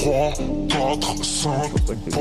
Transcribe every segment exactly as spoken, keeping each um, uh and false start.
trois, quatre, cinq,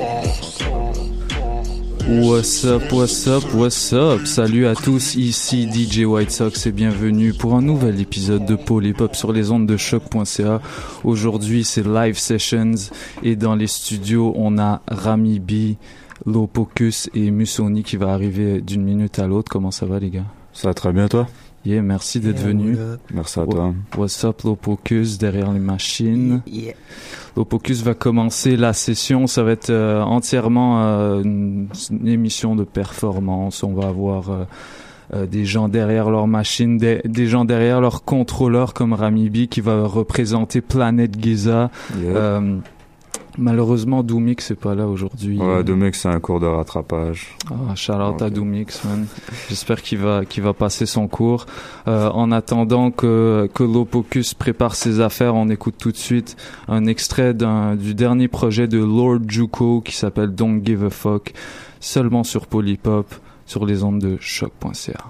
What's up, what's up, what's up? Salut à tous, ici D J White Sox et bienvenue pour un nouvel épisode de Polypop sur les ondes de choc point c a. Aujourd'hui, c'est Live Sessions et dans les studios, on a Rami B, Lopocus et Musoni qui va arriver d'une minute à l'autre. Comment ça va, les gars? Ça va très bien, toi? Yeah, merci d'être yeah, venu. Merci à toi. What's up, Lopocus, derrière les machines. Yeah. Lopocus va commencer la session. Ça va être euh, entièrement euh, une, une émission de performance. On va avoir euh, euh, des gens derrière leur machine, des, des gens derrière leur contrôleur comme Rami B qui va représenter Planet Giza. Yeah. Euh, Malheureusement, Doomix c'est pas là aujourd'hui. Ouais, Doomix c'est un cours de rattrapage. Ah, shout out okay. à Doomix, man. J'espère qu'il va qu'il va passer son cours. Euh, en attendant que que Lopocus prépare ses affaires, on écoute tout de suite un extrait d'un du dernier projet de Lord Juco qui s'appelle Don't Give a Fuck, seulement sur Polypop, sur les ondes de choc point c a.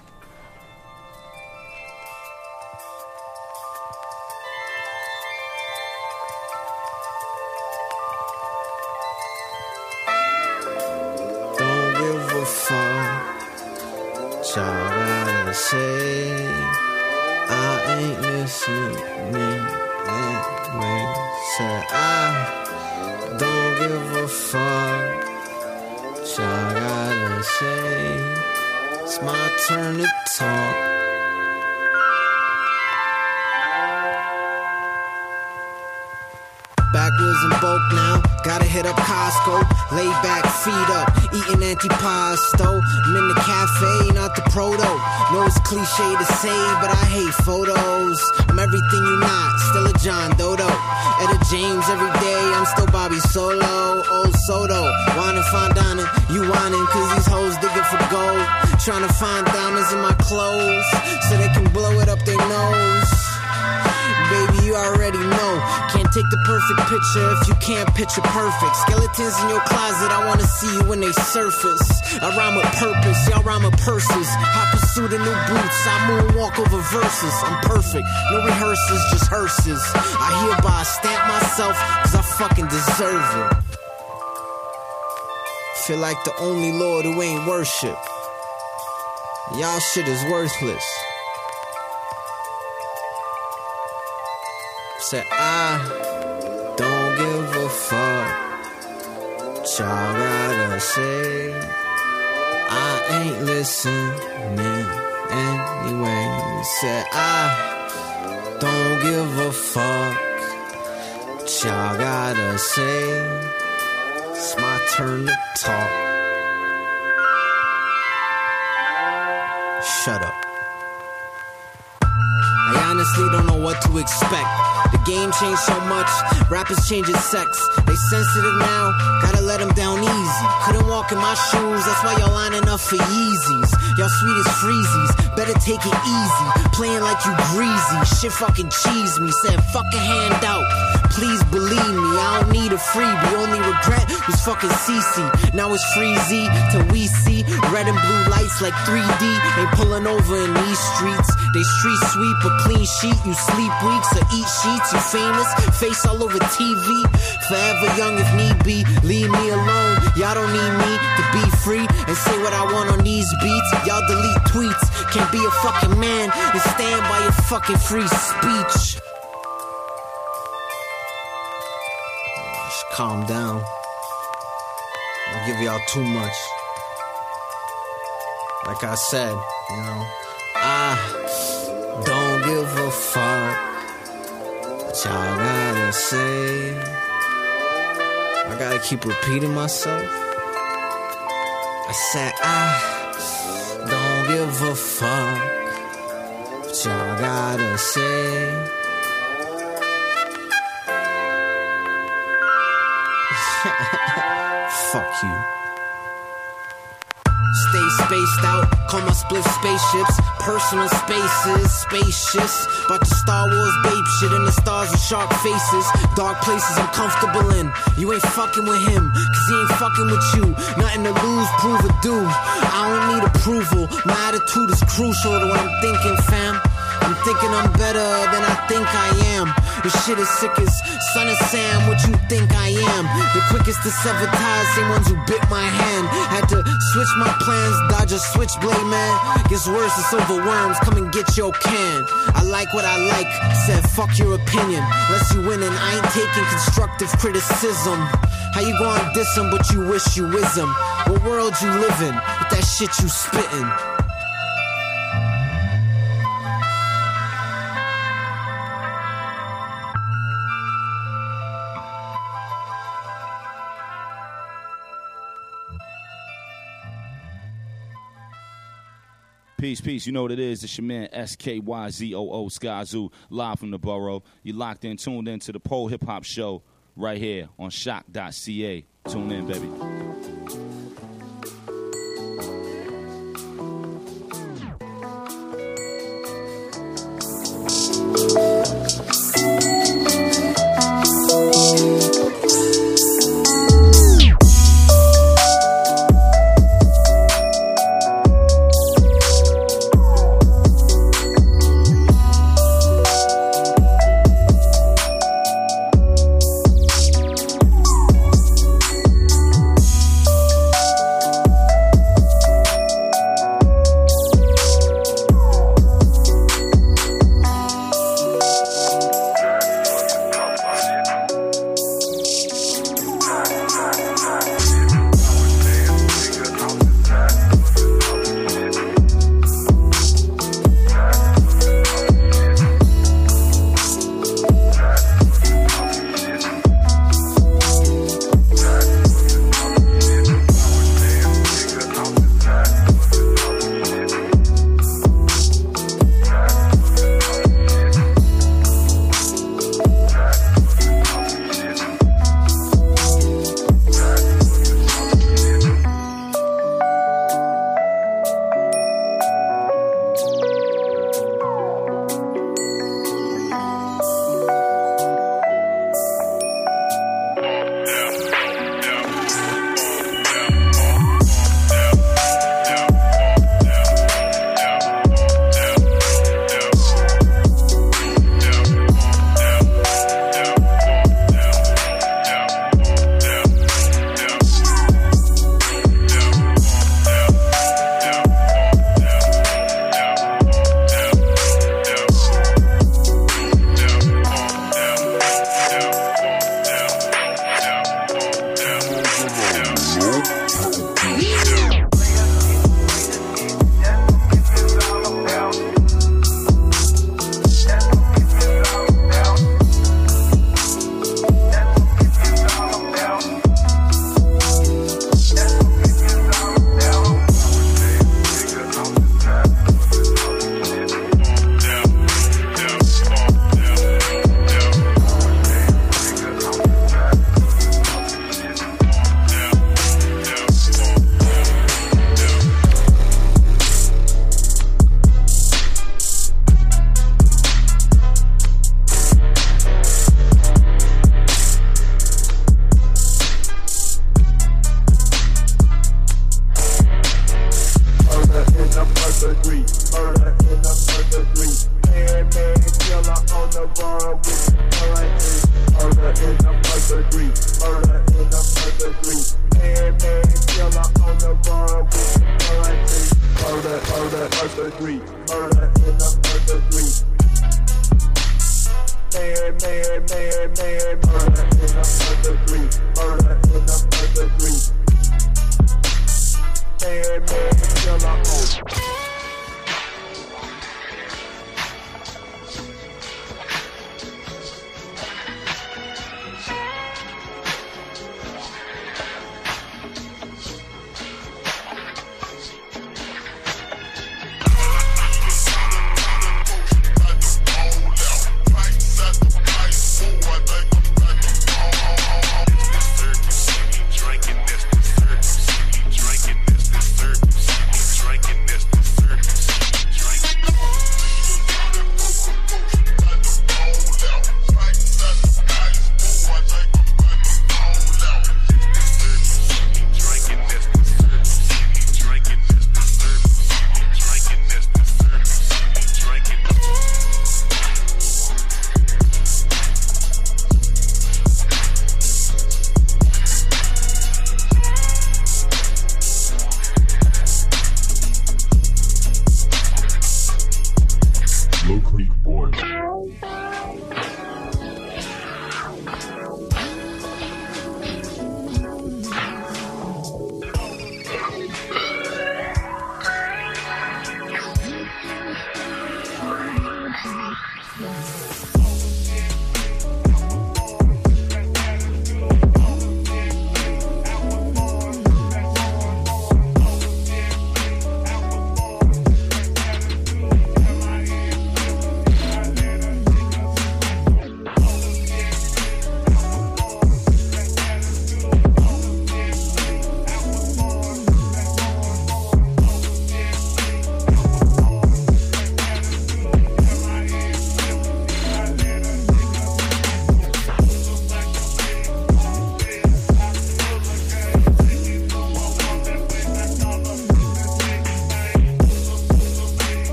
Y'all gotta say I ain't listening anyway. Said I don't give a fuck. Y'all gotta say it's my turn to talk. Backwards in bulk now, gotta hit up Costco. Lay back, feet up, eating antipasto. I'm in the cafe, not the proto. Know it's cliche to say, but I hate photos. I'm everything you not, still a John Dodo. Etta James every day, I'm still Bobby Solo. Old Soto, wanna find dining, you whining cause these hoes digging for gold. Trying to find diamonds in my clothes, so they can blow it up their nose. Baby, you already know. Can't take the perfect picture if you can't picture perfect. Skeletons in your closet, I wanna see you when they surface. I rhyme with purpose, y'all rhyme with purses. I pursue the new boots, I moonwalk over verses. I'm perfect, no rehearsals, just hearses. I hereby stamp myself, cause I fucking deserve it. Feel like the only Lord who ain't worship. Y'all shit is worthless. Said I don't give a fuck. Y'all gotta say I ain't listening anyway. Said I don't give a fuck. Y'all gotta say it's my turn to talk. Shut up. I honestly don't know what to expect. The game changed so much, rappers changing sex. They sensitive now, gotta let them down easy. Couldn't walk in my shoes, that's why y'all lining up for Yeezys. Y'all sweet as freezies, better take it easy. Playing like you greasy, shit fucking cheese me. Said fuck a handout, please believe me. I don't need a freebie, only regret was fucking C C. Now it's freezy till we see red and blue lights like three D. Ain't pulling over in these streets. They street sweep a clean sheet. You sleep weeks or eat sheets. You famous, face all over T V. Forever young if need be. Leave me alone. Y'all don't need me to be free and say what I want on these beats. Y'all delete tweets. Can't be a fucking man and stand by your fucking free speech. Just calm down. I'll give y'all too much. Like I said, you know, I don't give a fuck what y'all gotta say. I gotta keep repeating myself. I said I don't give a fuck what y'all gotta say. Fuck you. Stay spaced out, call my split spaceships. Personal spaces, spacious. About to Star Wars babe shit in the stars with shark faces. Dark places I'm comfortable in. You ain't fucking with him, cause he ain't fucking with you. Nothing to lose, prove or do. I don't need approval, my attitude is crucial to what I'm thinking, fam. I'm thinking I'm better than I think I am. This shit is sick as Son of Sam, what you think I am? The quickest to sever ties, same ones who bit my hand. Had to switch my plans, dodge a switchblade, man. Gets worse, it's over worms, come and get your can. I like what I like, said fuck your opinion. Unless you winning, I ain't taking constructive criticism. How you gonna diss him, but you wish you is him? What world you live in, with that shit you spittin'? Peace, peace. You know what it is. It's your man S K Y Z O O Skyzoo, live from the borough. You locked in, tuned in to the Pole Hip Hop Show right here on shock dot c a. Tune in, baby.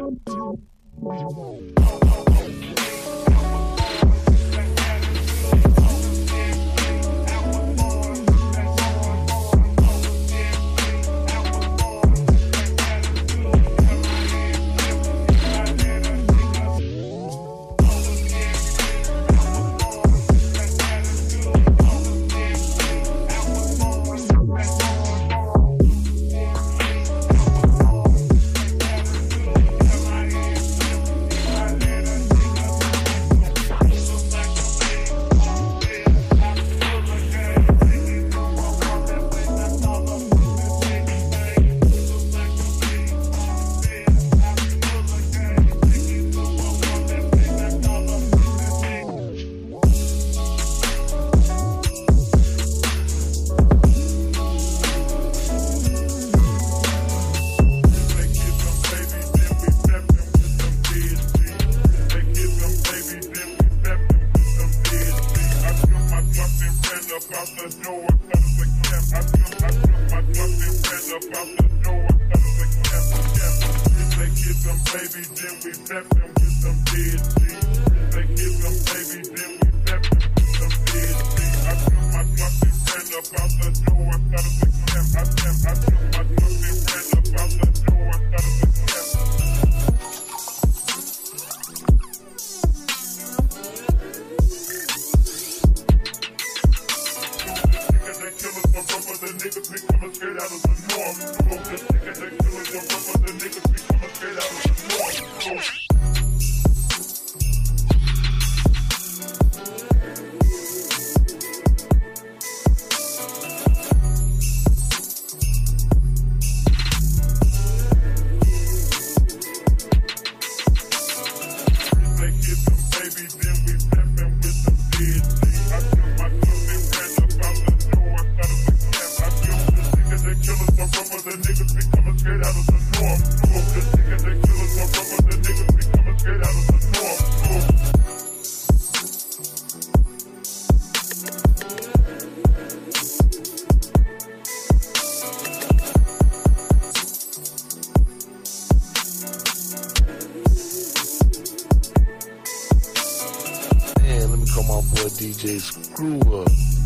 D J Screw Up.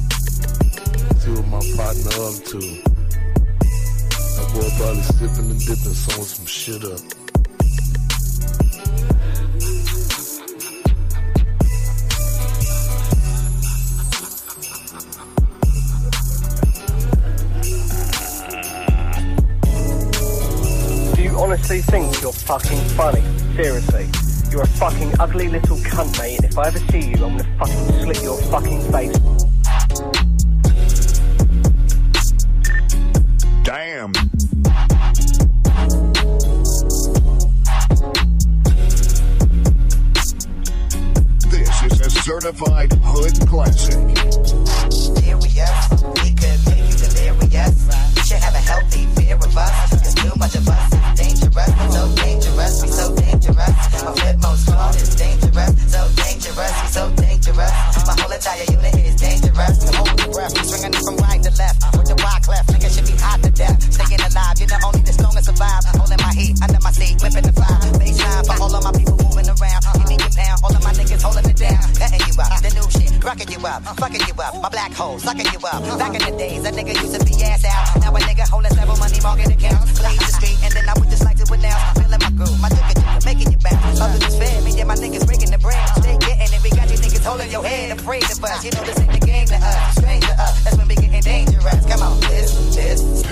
See what my partner up to. That boy probably sipping and dipping, sewing some shit up. Do you honestly think you're fucking funny? Seriously. You're a fucking ugly little cunt, mate, and if I ever see you, I'm gonna fucking slit your fucking face. Damn. This is a certified hood classic. Serious, we could make you delirious. You should have a healthy fear of us. Cause too much of us is dangerous. So dangerous, we so dangerous. My flipmode squad is dangerous. So dangerous, we so dangerous. My whole entire unit is dangerous. Hold your breath, swinging it from right to left. With the wide clef, nigga should be hot to death. Staying alive, you're the only the strongest survive. Holding my heat under my seat, whipping the fire. Baseline for all of my people moving around. Give me your pound, all of my niggas holding it down. Cutting you up, the new shit, rocking you up, fucking you up. My black hole, sucking you up. Back in the days, a nigga used to be ass out. Now a nigga holding several money market accounts. Blaze the street, and then I would just like to announce. Feeling my groove, my jigger jigger, making you bounce. Others is fair, me and my niggas breaking the bread. Stay getting it, we got you niggas holding your head. Afraid of us, you know this ain't the game to us. Strange to us, that's when we getting dangerous. Come on, this, this.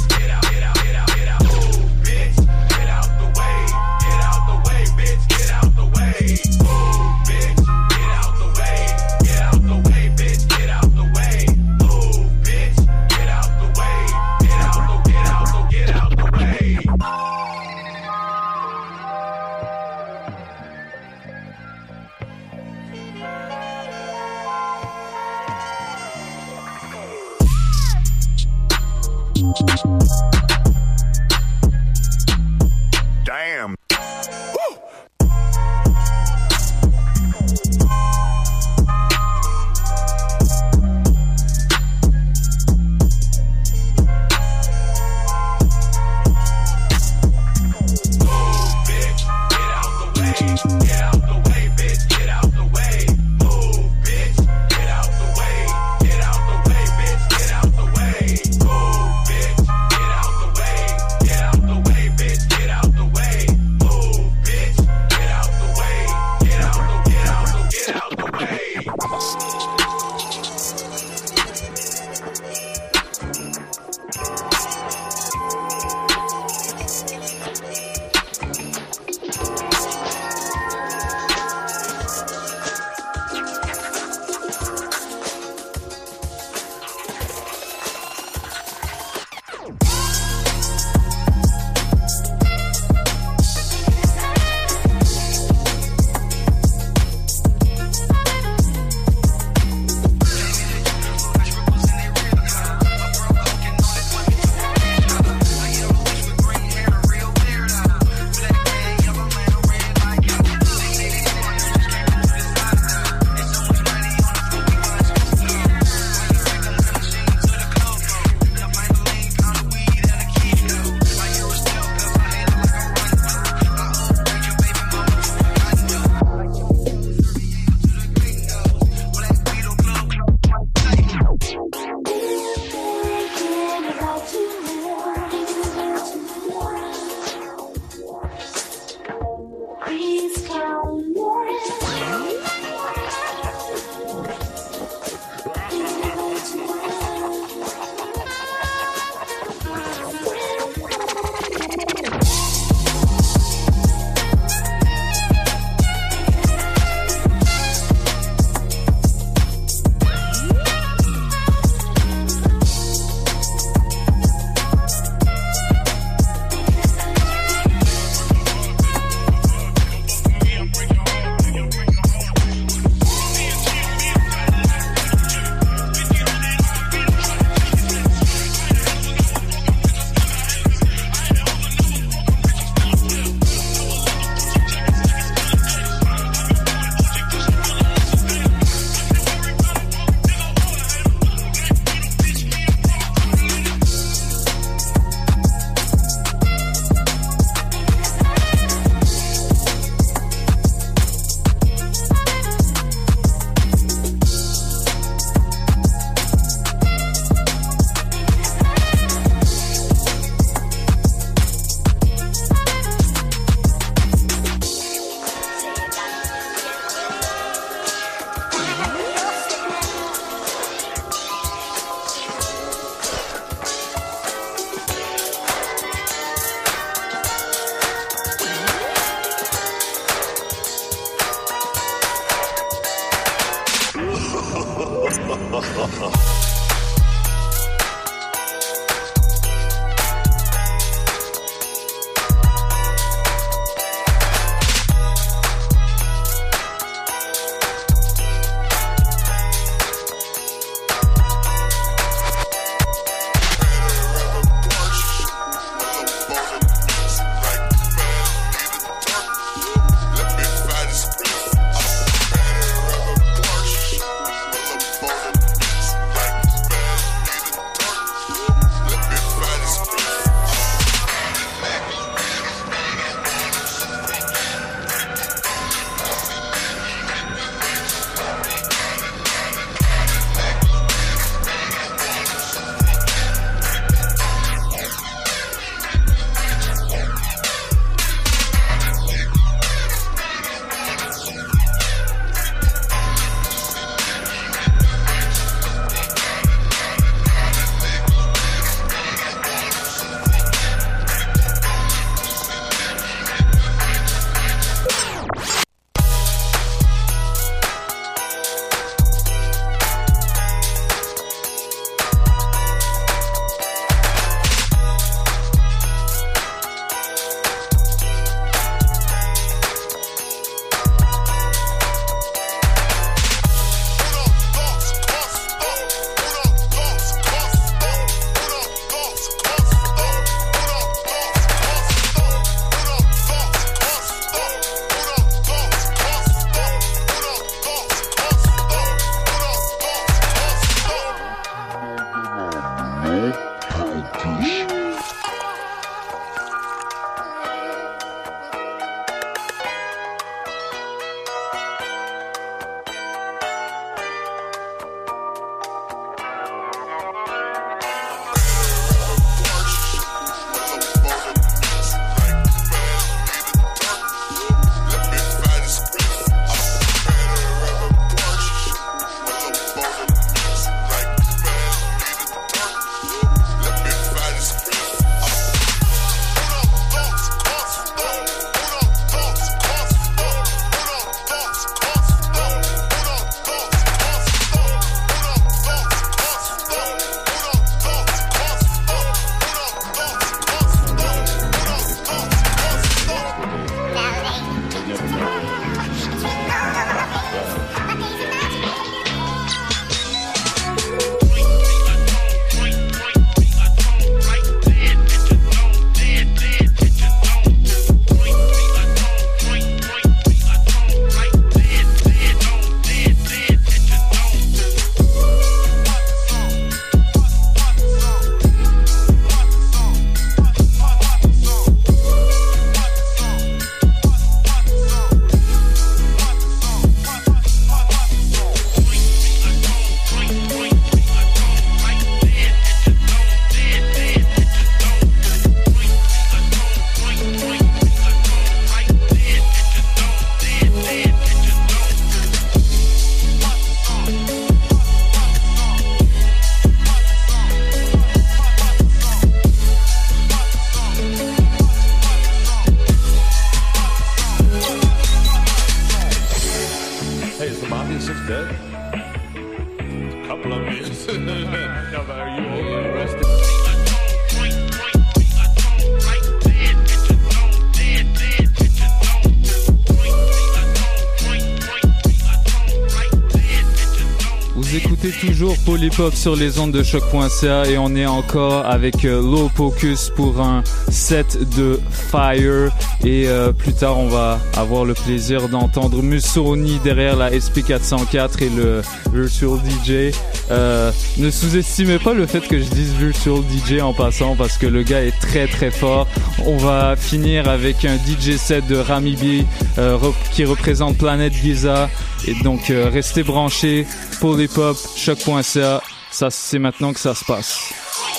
Get out Hey, is the Mafia six dead? A couple of them is. Are you arrested? Vous écoutez toujours Polypop sur les ondes de choc.ca et on est encore avec euh, Low Pocus pour un set de Fire et euh, plus tard on va avoir le plaisir d'entendre Musoni derrière la S P quatre cent quatre et le Virtual D J. Euh, ne sous-estimez pas le fait que je dise Virtual D J en passant parce que le gars est très très fort. On va finir avec un D J set de Rami B euh, rep- qui représente Planète Giza. Et donc, euh, restez branchés, Polypop, choc.ca, ça, c'est maintenant que ça se passe.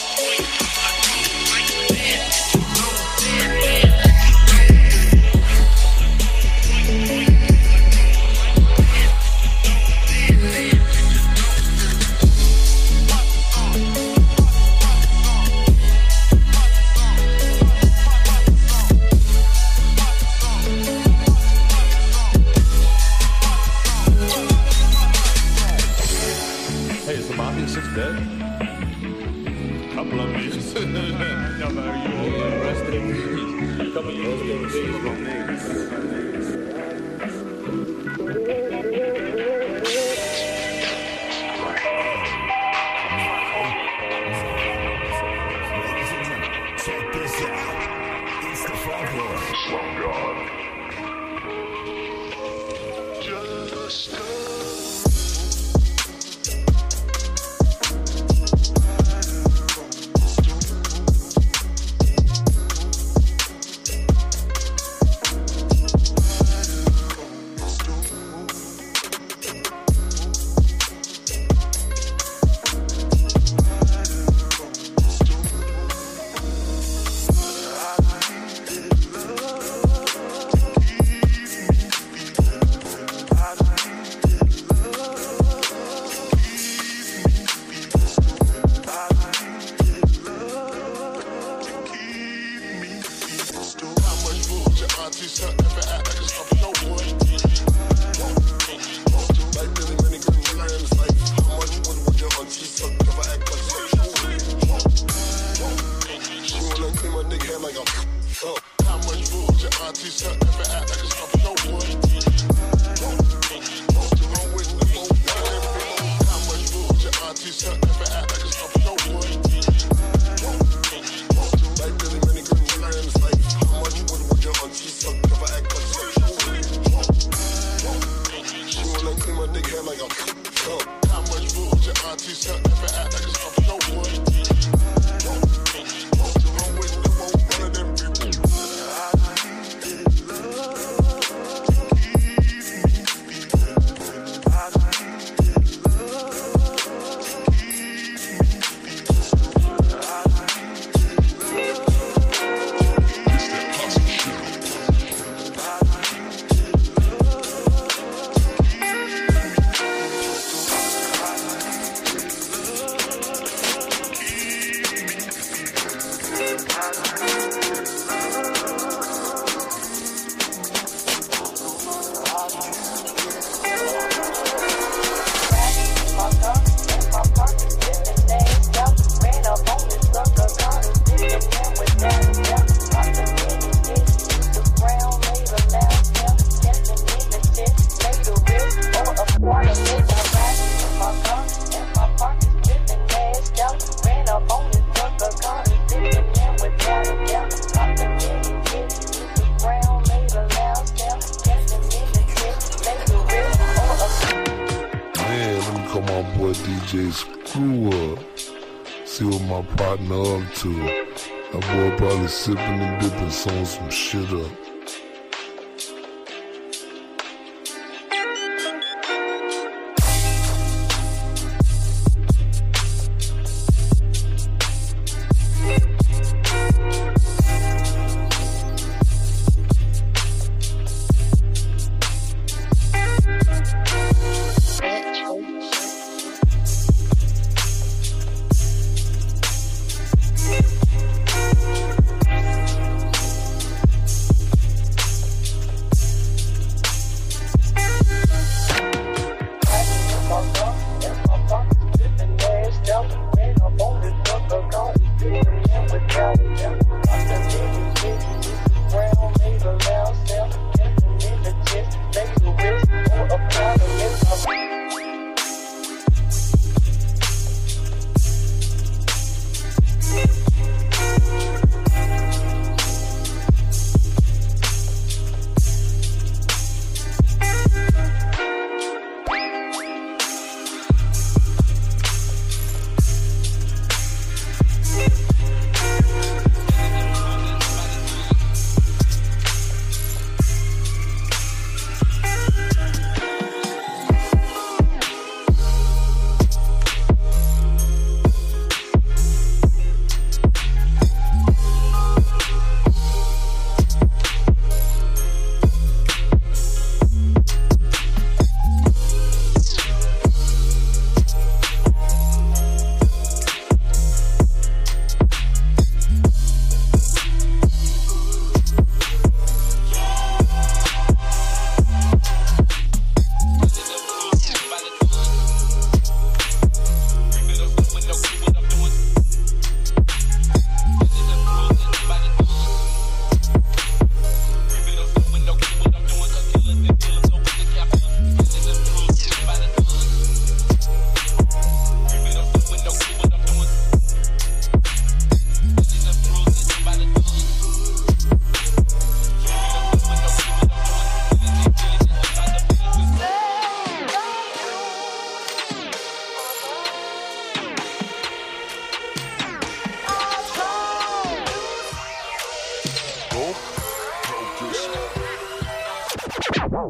Sipping and dipping, sewing some shit up.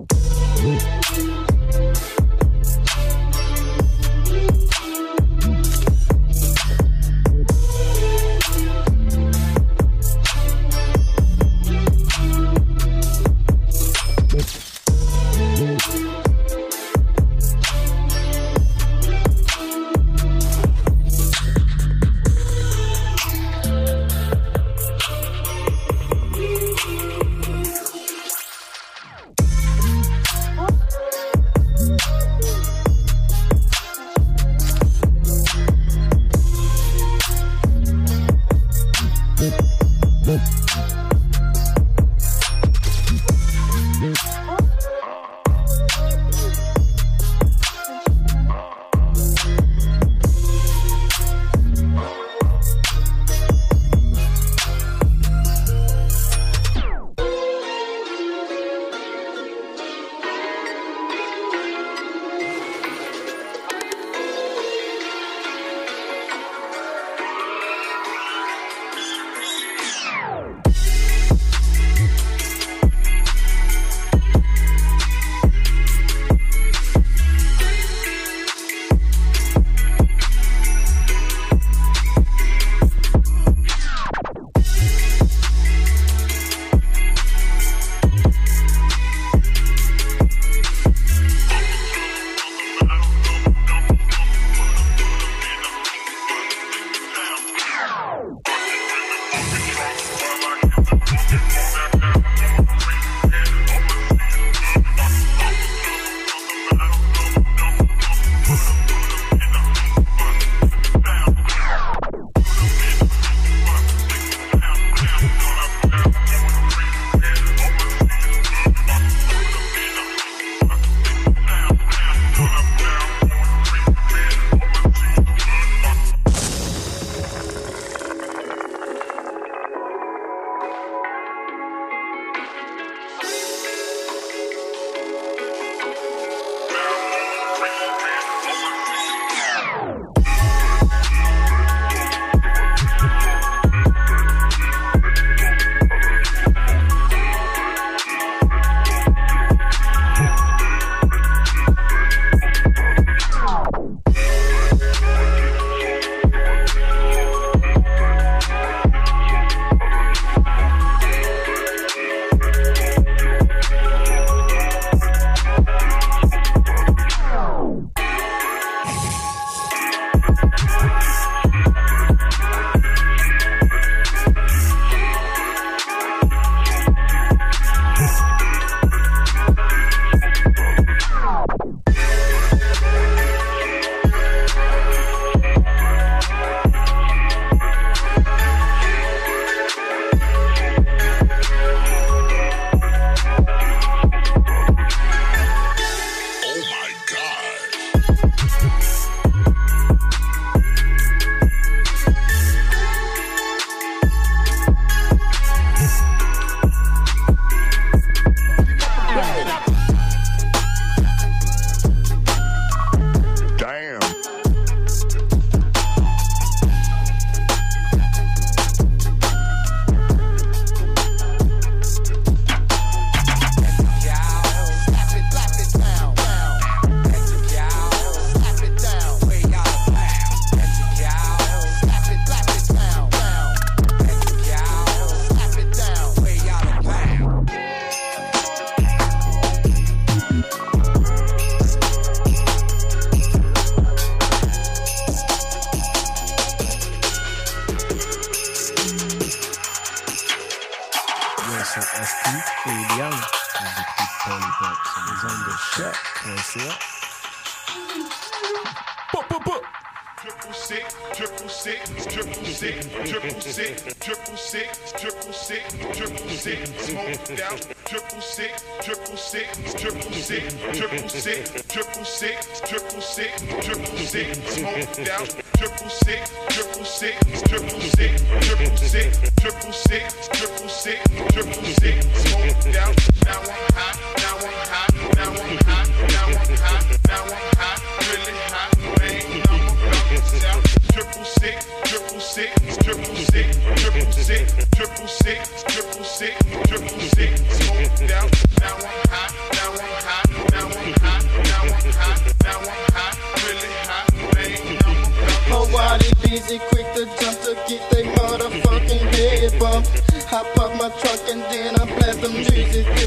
Triple six, triple six, triple six, smoked out. Now I'm high, now I'm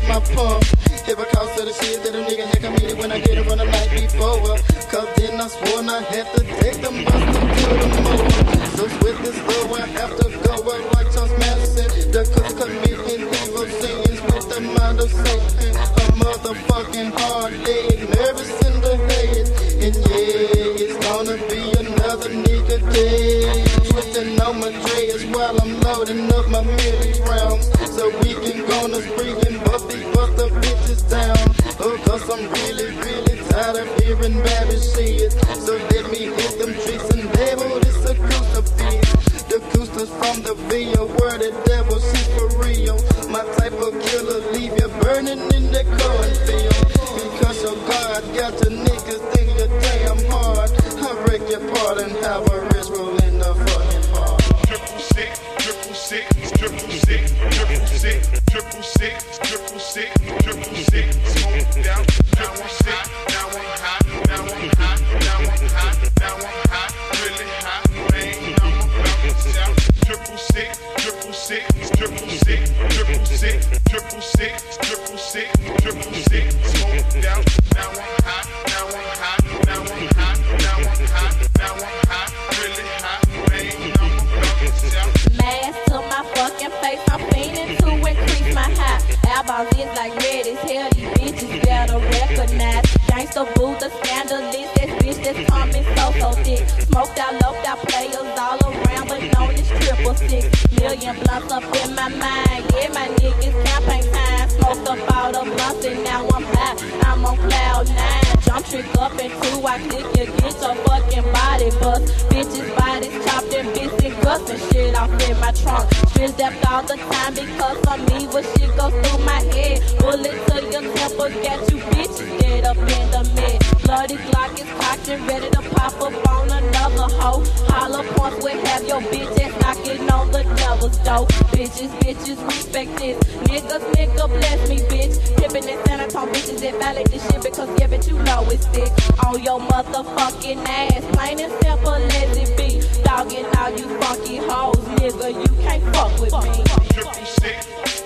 my pump. If I cause to the shit that a nigga had committed when I get it from the night before. Cause then I swore I had to take the bus to kill the mower. So with this love I have to go up like Charles Manson. The cook committing evil sins with the mind of Satan. A motherfucking hard day, nervous in the head. And yeah, it's gonna be another nigga day. Twisting on my dreads while I'm loading up my milli rounds. So we can go on the spree and bust these bust the bitches down. Oh, cause I'm really, really tired of hearing baby shit. So let me hit them tricks and label this a crucifix. The Coosters from the video where the devil shit for real. My type of killer leave you burning in the cornfield. Because your God got your niggas think you're damn hard. I break your part and have a wrist roll in the fucking park. Triple six, triple six, triple six, triple six, triple six, triple six, triple six, smoked out. Now I'm sick, now I'm hot, now I'm hot, now I'm hot, now I'm hot, really hot, man, I'm about to shout. Triple six, triple six, triple six, triple six, triple six, triple six, triple six, smoked out. Now I'm hot, now I'm hot, now I'm hot, now I'm hot, now I'm hot, really hot, man, I'm about to shout. Mask to my fucking face, I'm fiending to increase my high. Eyeballs is like red as hell, these bitches better recognize. Gangsta boo, the scandalous, that bitch that's coming so, so thick. Smoked out, loped out players all around, but known as triple six. Million blunts up in my mind, yeah, my niggas campaign time. Smoked up all the blunts and now I'm high, I'm on cloud nine. Jump trick up and two, I click you, get your fucking body bust. Bitches bodies chopped and bits and guts and shit off in my trunk. Stress depth all the time because I'm evil, shit goes through my head. Bullet to your temple, got you bitches dead up in the mid. Bloody Glock is cocked and ready to pop up on another hoe. Hollow points will have your bitch ass knocking on the devil's door. Bitches, bitches, respect this. Niggas, nigga, bless me, bitch. Pippin' and San Antonio bitches that violate this shit because, yeah, bitch, you know it's thick. On your motherfucking ass, plain and simple as it be. Dogging all you funky hoes, nigga, you can't fuck with me. Triple six,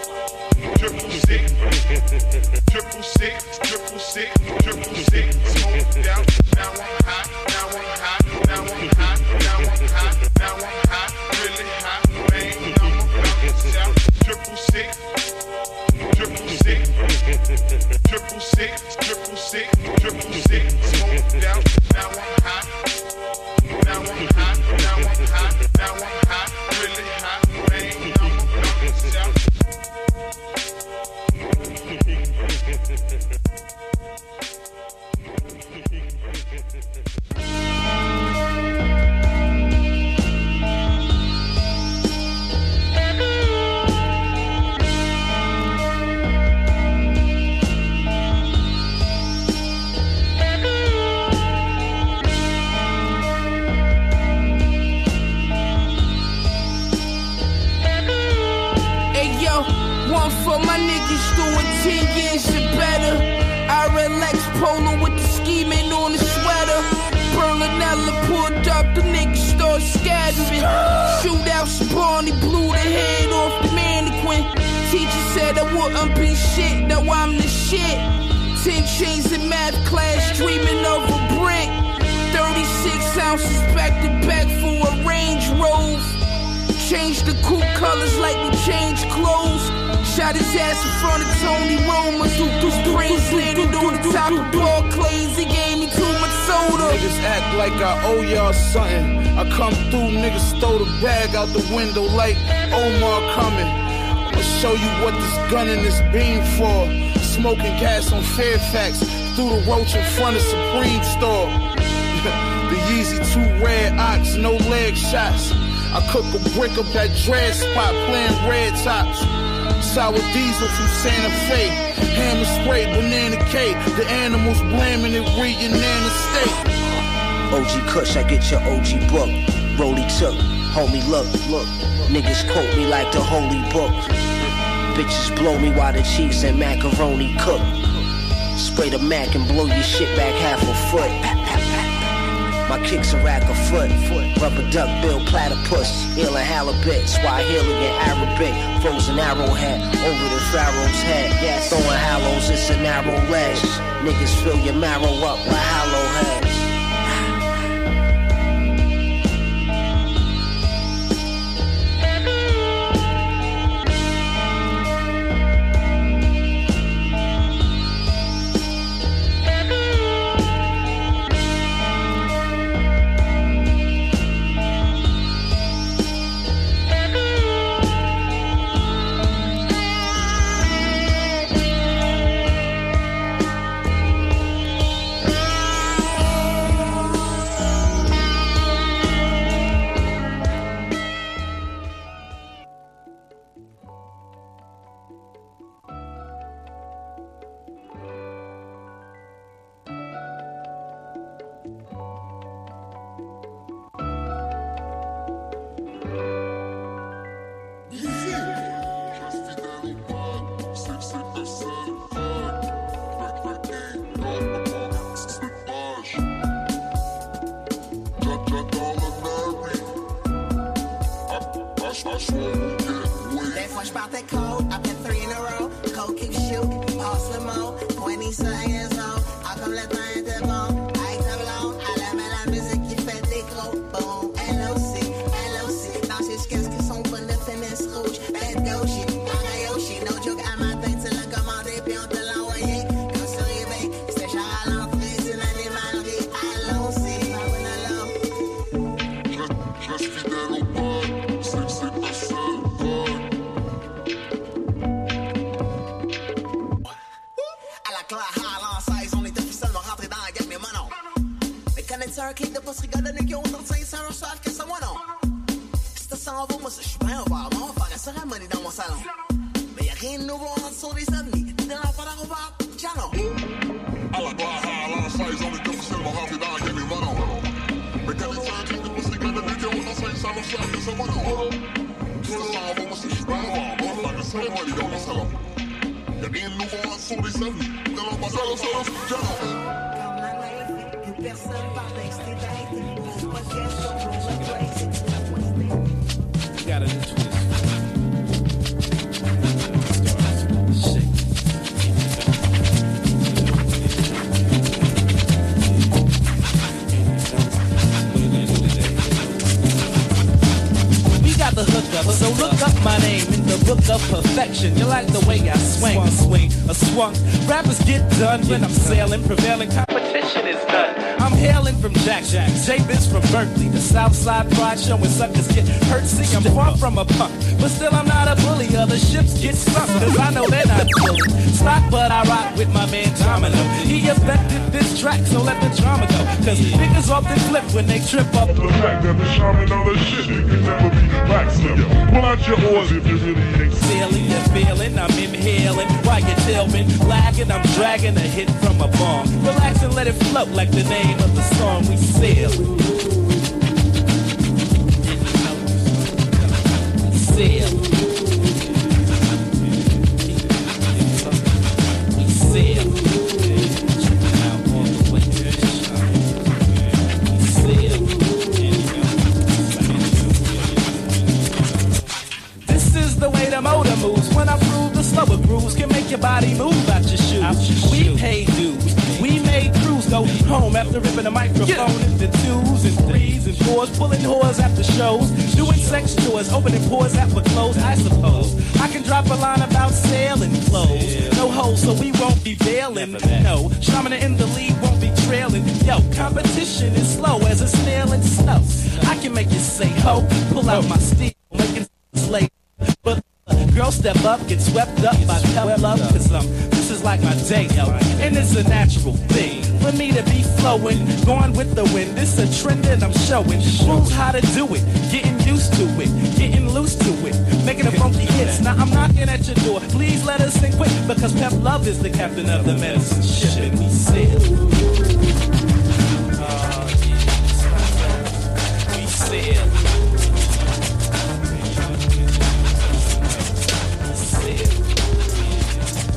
triple six, triple six, triple six, triple six, smoked out. Now I'm hot, now I'm hot, now I'm hot, now I'm hot, now I'm hot, really hot, man, I'm about to shout. Triple six, triple six, triple six, triple six, triple six, smoked out. Now I'm hot, now I'm hot, now I'm hot, now I'm hot, really hot, man, I'm about to shout. One for my niggas doing ten years and better. I relax polo with the scheming on the sweater. Berlinella pulled up, the niggas start scattering. Shootout spawn, he blew the head off the mannequin. Teacher said I wouldn't be shit, now I'm the shit. Ten chains in math class, dreaming of a brick. Thirty-six ounces back to back for a Range Rover. Change the coupe colors like we change clothes. Shot his ass in front of Tony Romo. His brains landed on the top of ball clays. He gave me too much soda. Niggas act like I owe y'all something. I come through, niggas throw the bag out the window like Omar coming. I'ma show you what this gun and this beam for. Smoking gas on Fairfax through the roach in front of Supreme store. The Yeezy two red ox, no leg shots. I cook a brick up that dread spot, playing red tops. Sour diesel from Santa Fe, hammer spray, banana cake. The animals blaming it, reading Nana State. O G Kush, I get your O G book. Rolly took, homie, look, look. Niggas quote me like the holy book. Bitches blow me while the cheese and macaroni cook. Spray the Mac and blow your shit back half a foot. My kicks a rack a foot. Rubber duck bill platypus. Healing halibut. Swahili and Arabic. Frozen arrowhead over the pharaoh's head. Yes. Throwing hallows, it's a narrow ledge. Niggas fill your marrow up with hollow heads. You like the way I swing, swung, swing, a swung. Rappers get done when I'm sailing. Prevailing competition is done. I'm hailing from Jack, Jack. J-Biz from Berkeley. The Southside Pride showing suckers get hurt. See, I'm far from a punk, but still I'm not a bully. Other ships get sunk, cause I know they're not bully. Stock, but I rock with my man Domino. He affected this track, so let the drama go. Cause niggas often flip when they trip up. The fact that the shaman of the shit, you can never be backslip. Pull out your oars if you really ain't sailing. You're feeling, I'm inhaling. While you're tilting, lagging, I'm dragging a hit from a bomb. Relax and let it float like the name of the song we sail. Sail. We sail. This is the way the motor moves. When I prove the slower grooves can make your body move out your shoes. Out your we shoes. Pay dues. We made crews go home after ripping a microphone yeah. into twos and threes and fours, pulling whores after shows, doing sex chores, opening pores after clothes. I suppose I can drop a line about sailing clothes. No holes, so we won't be bailing. No, Shaman in the lead won't be trailing. Yo, competition is slow as a snail in snow. I can make you say ho, pull out my steel, making slave. But girl, step up, get swept up by tough love, cause um, this is like my day, yo, and it's a natural thing for me to be flowing, going with the wind. This a trend that I'm showing, rules how to do it, getting used to it, getting loose to it, making the funky hits. Now I'm knocking at your door, please let us in quick, because Pep Love is the captain of the medicine ship, and we sail. Oh, yeah. We sail.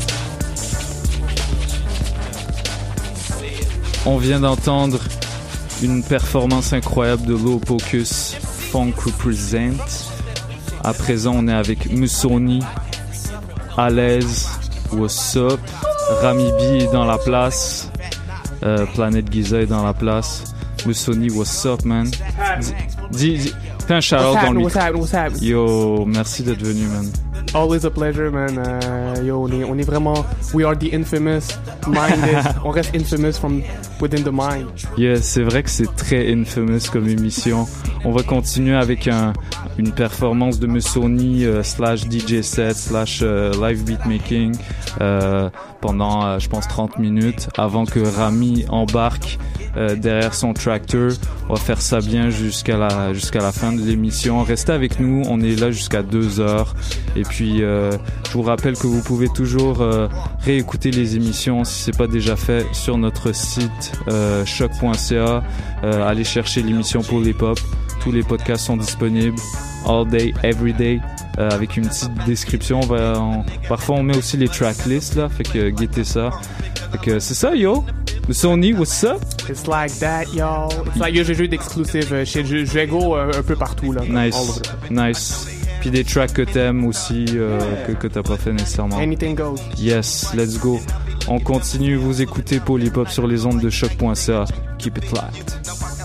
On vient d'entendre une performance incroyable de Low Pocus, Funk Represent. À présent, on est avec Musoni, à l'aise, what's up, Rami B est dans la place, euh, Planète Giza est dans la place, Musoni, what's up, man? Dis, dis, fais un shout-out dans le micro. What's happening? What's happening? Yo, merci d'être venu, man. Always a pleasure, man. Uh, yo, on est, on est vraiment, we are the infamous, mind is, on reste infamous from within the mind. Yeah, c'est vrai que c'est très infamous comme émission. On va continuer avec un, une performance de Musoni euh, slash D J set slash euh, live beatmaking euh, pendant, euh, je pense, trente minutes avant que Rami embarque euh, derrière son tractor. On va faire ça bien jusqu'à la, jusqu'à la fin de l'émission. Restez avec nous, on est là jusqu'à deux heures. Et puis, euh, je vous rappelle que vous pouvez toujours euh, réécouter les émissions si c'est pas déjà fait sur notre site euh, choc point c a. Euh, allez chercher l'émission pour les pop. Tous les podcasts sont disponibles all day, every day, euh, avec une petite description. On va, on, parfois, on met aussi les tracklists là, fait que guettez ça. Fait que c'est ça, yo. Sony, what's up? It's like that, y'all. It's like, yo, j'ai joué d'exclusif euh, chez Juego euh, un peu partout là. Nice, nice. Puis des tracks que t'aimes aussi, euh, que, que t'as pas fait nécessairement. Anything goes. Yes, let's go. On continue, vous écoutez Polypop sur les ondes de choc point c a. Keep it locked.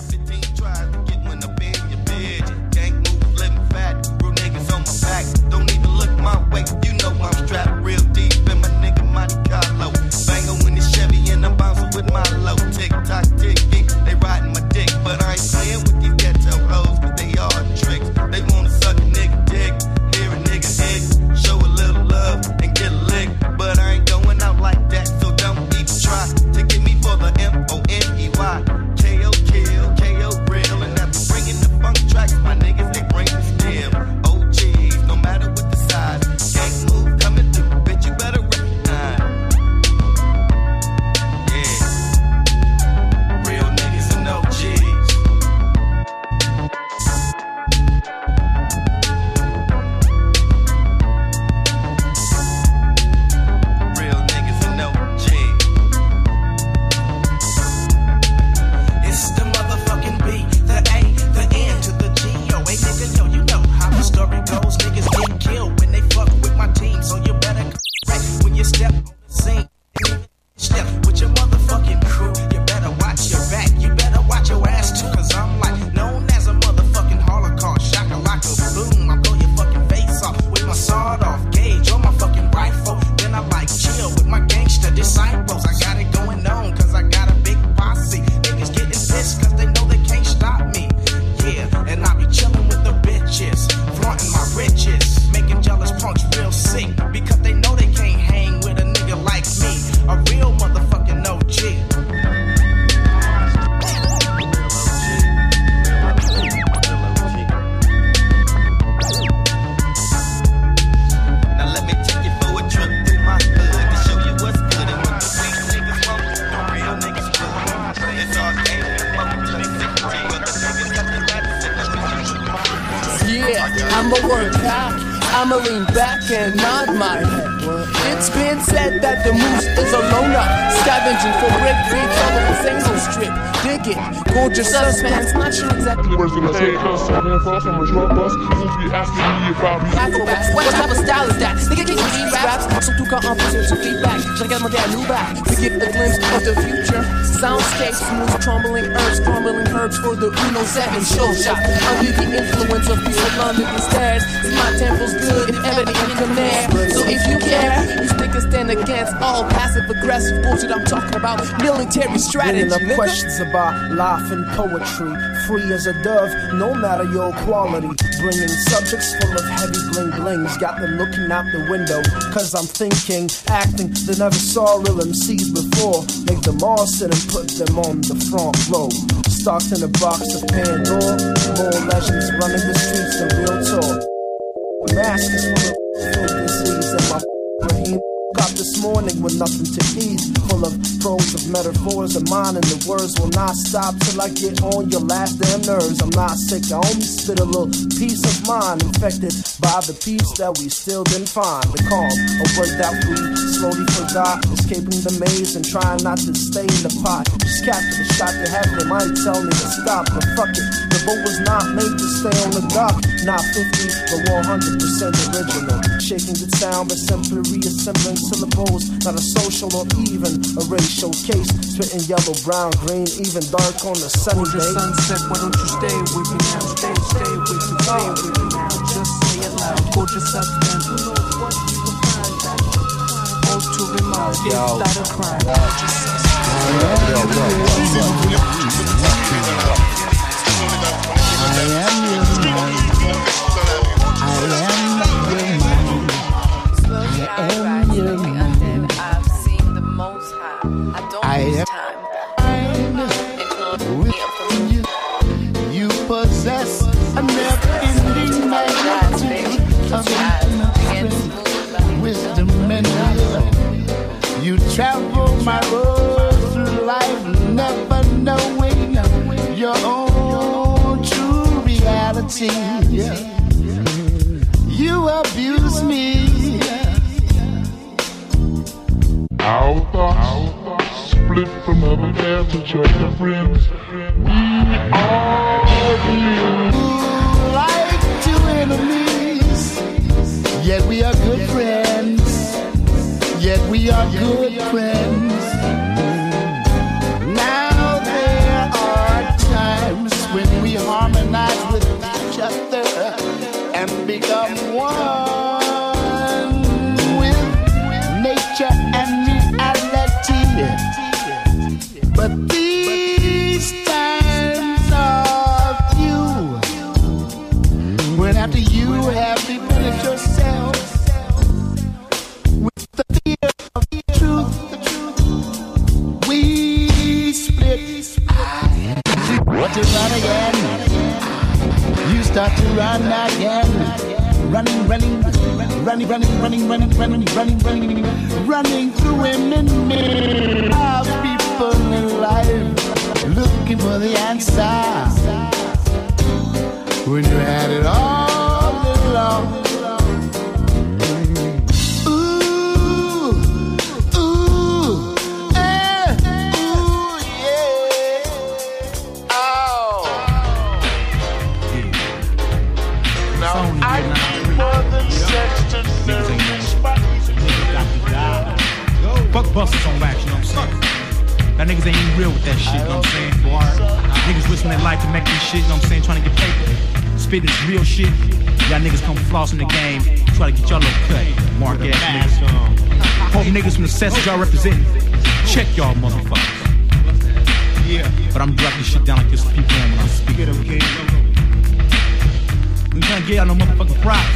I'ma work out, I'ma lean back and nod my head. It's been said that the moose is a loner, scavenging for brick, big trouble with single strip. Dig it, gorgeous suspense, not sure exactly where's the mistake. Cause I'm in front from a drug bus, since be asking me if I'll be acrobats. What type of style is that? Nigga, can you eat raps? Surtout quand en plus sur feedback, je regarde mon dernier back to get a glimpse of the future. Soundscape, smooth, trembling herbs, crumbling herbs for the Uno seven show shot. Under the influence of peace of London instead. My tempo's good, if evident in command. So if you care, you stick and stand against all passive aggressive bullshit. I'm talking about military strategy. Bringing up questions about life and poetry. Free as a dove, no matter your quality. Bringing subjects full of heavy bling blings. Got them looking out the window. Cause I'm thinking, acting, they never saw real M Cs before. Make them all sit and put them on the front row. Stocked in a box of Pandora. More legends running the streets than real talk. Masters full of disease and my brain. Got the this morning with nothing to eat. Full of prose of metaphors of mine, and the words will not stop till I get on your last damn nerves. I'm not sick, I only spit a little piece of mine, infected by the peace that we still didn't find. The calm, a word that we slowly forgot, escaping the maze and trying not to stay in the pot. Just capture the shot they have, they might tell me to stop, but fuck it, the boat was not made to stay on the dock. Not fifty, but one hundred percent original. Shaking the sound, but simply reassembling syllables. Not a social or even a racial case. Spitting yellow, brown, green, even dark on the sunny day. The sunset, why don't you stay with me now? Stay, stay with me, stay with me now. Just say it loud, gorgeous substance. Who knows what you will find that all to remind is that a crime. Gorgeous substance. I am your man. I am your man. I've seen the most high. I don't lose time. With you, you possess a never-ending magnitude of wisdom and will. You travel my road through life, never knowing your own true reality. You abuse me. Our thoughts split from other halves of your friends. We are like two enemies, yet we are good friends. Yet we are good friends. Now there are times when we harmonize with each other and become one with nature and reality. But these times are few, when after you have replenished yourself with the fear of the truth, we split. To run again, you start to run again, running, running, running, running, running, running, running, running, running, running through women, men, of people in life, looking for the answer when you had it all along. Fuck busters on wax, you know what I'm saying? That niggas ain't even real with that shit, you know what I'm saying? Boy, niggas risking their life to make this shit, you know what I'm saying? Trying to get paper. Spit this real shit. Y'all niggas come floss in the game, try to get y'all little cut. Mark ass niggas. Hope niggas from the sets y'all representing. Check y'all motherfuckers. Yeah. But I'm dropping this shit down like this to people when I speak. We trying to get y'all no motherfucking props.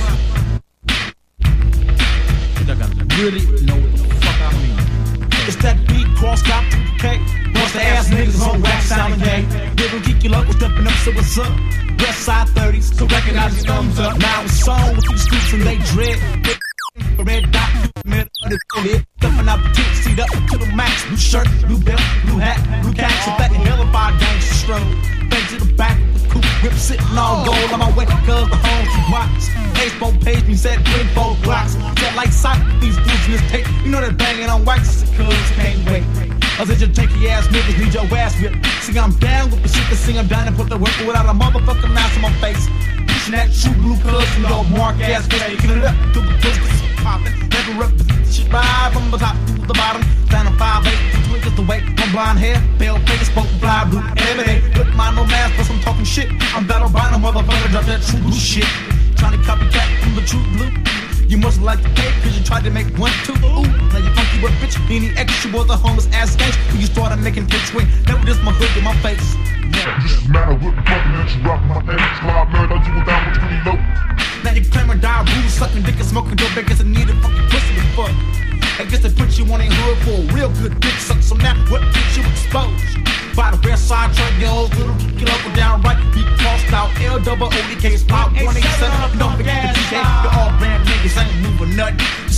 Y'all gotta really know what the fuck I mean. It's that beat, cross cop, okay? Bust the ass niggas on wax sounding gay. Little geeky local stepping up, so what's up? West side thirties, so recognize your thumbs up. Now it's on with these streets and they dread. Red dot, man, under the lid. Stuffing out the tip, seat up to the max. Blue shirt, blue belt, blue hat, blue caps. With that hellified gangster stroll. Back to the back of the coupe, whip sitting all gold on my way, cause the home two watch. Baseball page me said three, four blocks. Set like sight, these dudes in this tape. You know that banging on wax, cause can't wait. Other just janky ass niggas need your ass whipped. See, I'm down with the shit to sing, I'm down and put the work without a motherfucking mask on my face. Pushing that true blue cuz, you know, mark ass face. Picking it up, do the business, popping. Never represent the shit right from the top to the bottom. Down on five eight, twinkles the weight. My blonde hair, pale face, spoke fly blue. Every day, put my no mask, but I'm talking shit. I'm battle by no motherfucker, drop that true blue shit. Trying to copycat from the true blue. You must like the cake, cause you tried to make one, two, ooh. Now you funky with bitch, any extra was a homeless ass gangsta. When you started making big swing, never just my hood in my face. Yeah. Just matter what the fucking that you rock my face. Slide nerd, I you down with twenty low. Now you claim or die, rude, sucking dick and smoking dope, because I need a fucking pussy to fuck. I guess they put you on a hood for a real good dick suck, so now what gets you exposed? By the west side truck, your old little kick up and down right, be crossed out, L double O D K, spot one eight seven, don't forget the D J, the all brand niggas ain't moving nothing.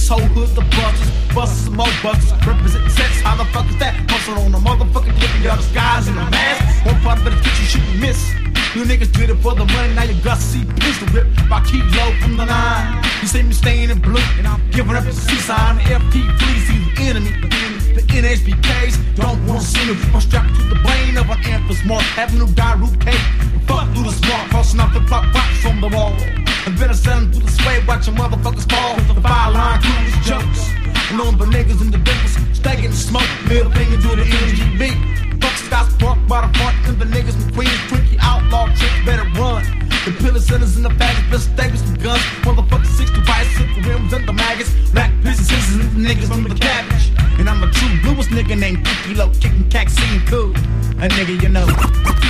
this whole hood, the busters, busters some more busters. Representing sex, how the fuck is that? Hustle on the motherfucking living, y'all disguise in the mask. One part of it is you shoot and miss. You niggas did it for the money, now you got to see pistol whip. I keep low from the line. You see me staying in blue, and I'm giving up the C sign. The F P please see the enemy. The N H B Ks don't want to see me. I'm strapped to the brain of an Empress mark. Avenue Daru cake. Fuck through the smart, crossing off the block box from the wall. And better selling through the sway, watching motherfuckers fall. The fire line crew is jokes. And on the niggas in the dimples, stacking the smoke. Middle finger to the N G B. Fuck Scott's Park by the front, and the niggas from Queens, Twinkie, outlaw, chicks better run. The pillar centers in the baggage, best stables with guns. Motherfuckers sixty bicycle rims and the maggots. Black pieces, scissors, and the niggas from the cabbage. And I'm the true bluest nigga named Kiki Low, kicking cack, scene cool. A nigga you know.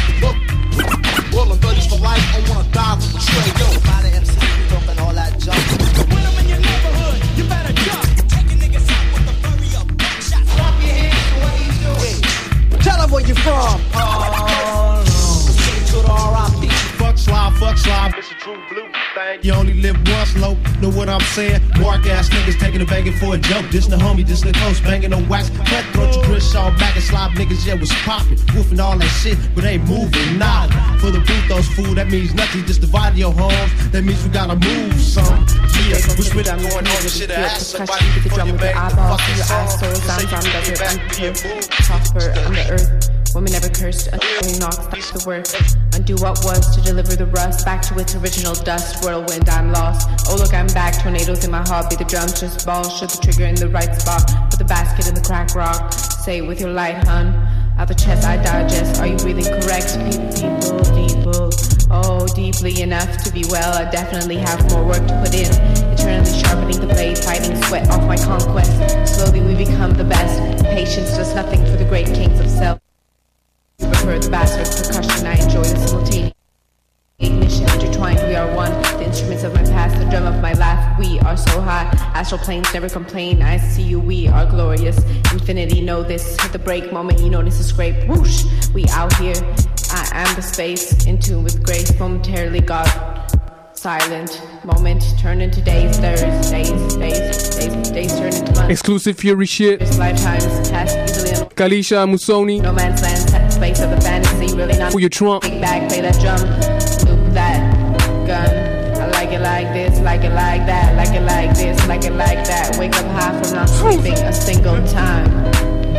Rolling thirties for life, I wanna die for betray. Yo, a lot of M Cs be talking all that junk. When I'm in your neighborhood, you better jump. Taking niggas out with the furry up buckshot. Clap your hands to what he's doing. Tell them where you from. Oh, no. To the R I P. Fuck slide, fuck slide. It's a true blue thing. You only live once, low. Know what I'm saying? Mark ass niggas taking a banging for a joke. This the homie, this the coast, banging on wax. Cutthroat your Chris all back and slob niggas, yeah, was popping. Woofing all that shit, but ain't moving, nah. For the Brutos fool, that means nothing. Just divide your homes, that means we gotta move some. Yeah, we spit that going on and shit. Ask somebody the drum with your eyeballs, through your eyes, soul, sounds on desert, unpure, prosper on the earth. Women never cursed, until knocks, that's the work. Undo what was to deliver the rust back to its original dust. Whirlwind, I'm lost. Oh look, I'm back. Tornadoes in my heart. Be the drums, just balls. Shoot the trigger in the right spot. Put the basket in the crack rock. Say it with your light, hun. Out the chest, I digest. Are you breathing correct? People, people. Oh, deeply enough to be well. I definitely have more work to put in. Eternally sharpening the blade, fighting sweat off my conquest. Slowly we become the best. Patience does nothing for the great kings of self. Prefer the bastard percussion, I enjoy the simultaneous ignition intertwined, we are one. The instruments of my past, the drum of my laugh. We are so high, astral planes never complain. I see you, we are glorious. Infinity, know this. At the break moment, you notice a scrape. Whoosh, we out here. I am the space, in tune with grace. Momentarily God, silent moment, turn into days, days, days, days, days, days turn into months. Exclusive Fury shit. This lifetime is passed easily. Kalisha Musoni. No man's land, space of the fantasy, really not. For your Trump. Big bag, play that drum, loop that gun. I like it like this, like it like that, like it like this, like it like that. Wake up high from not sleeping a single time.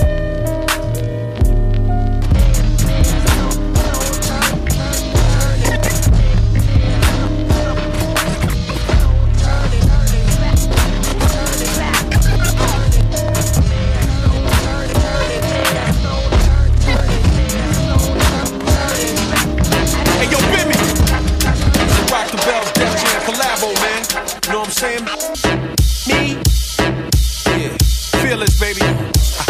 Saying me, yeah, fearless, baby. On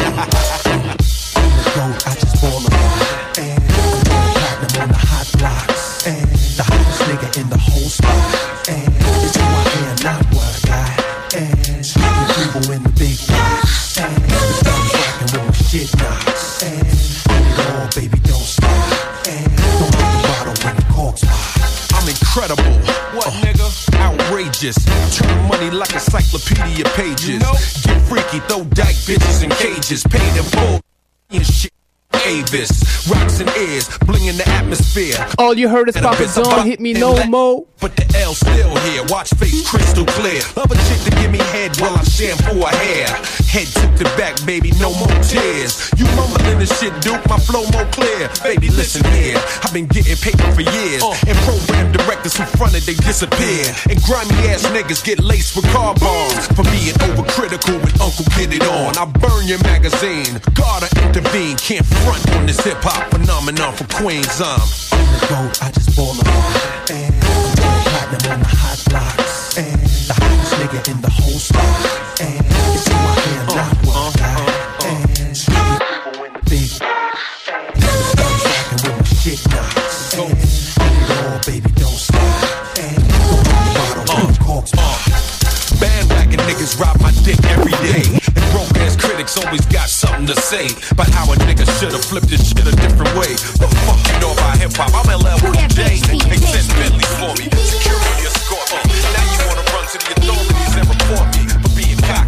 the road, I just ball around, and I'm platinum on the hot blocks, and the hottest nigga in the whole spot, and it's who I am, not what I got, and the people in the big box, and the thumbs rocking with my shit knocks, and it all, baby, don't stop, and don't let the bottle when the corks pop. I'm incredible. What, uh, nigga? Outrageous. Turn money like encyclopedia pages. You know? Get freaky, throw dyke bitches in cages. Paid in full and shit. Avis, rocks and ears, bling in the atmosphere. All you heard is Papa Don, hit me no more. But the L still here, watch face crystal clear. Love a chick to give me head while I shampoo her hair. Head tip to back, baby, no more tears. You mumbling this shit, Duke, my flow more clear. Baby, listen here, I've been getting paper for years. Uh. And program directors who fronted, they disappear. And grimy ass niggas get laced with car bombs for being overcritical when Uncle get it on. I burn your magazine, gotta intervene, can't front on this hip-hop phenomenon for Queens. I'm on the road, I just ball around, and I'm platinum on the hot blocks, and the hottest nigga in the whole spot, and it's who I am, not what I got, and people in the big box, and the thumbs rocking with my shit knocks, and it all, baby, don't stop, and go on the bottle when the corks pop. Bandwagon niggas rob my dick every day. And broke ass critics always got something to say about how a nigga should've flipped this shit a different way. What the fuck you know about hip hop? I'm L L J. They sent Bentley for me. Security escort me. Now you wanna run to the authorities and report me for being cocky.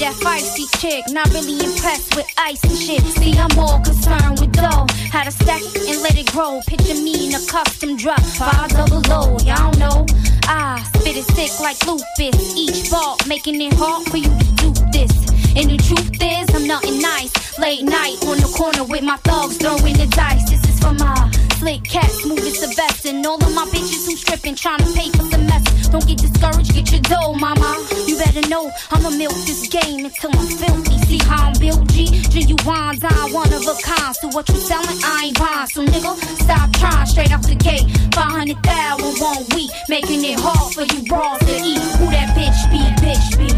that feisty chick, not really impressed with ice and shit. See, I'm more concerned with dough, how to stack it and let it grow. Picture me in a custom drop, five double O, y'all know. I spit it sick like lupus, each ball making it hard for you to do this. And the truth is, I'm nothing nice. Late night on the corner with my thugs throwing the dice. This is for my slick cats, moving Sylvester, and all of my bitches who stripping, trying to pay for semester. Don't get discouraged, get your dough, mama. You better know I'ma milk this game until I'm filthy. See how I'm built, G? Genuine, dime, one of a kind. So what you selling, I ain't buying. So nigga, stop trying, straight out the gate. five hundred thousand one week, making it hard for you bras to eat. Who that bitch be, bitch be?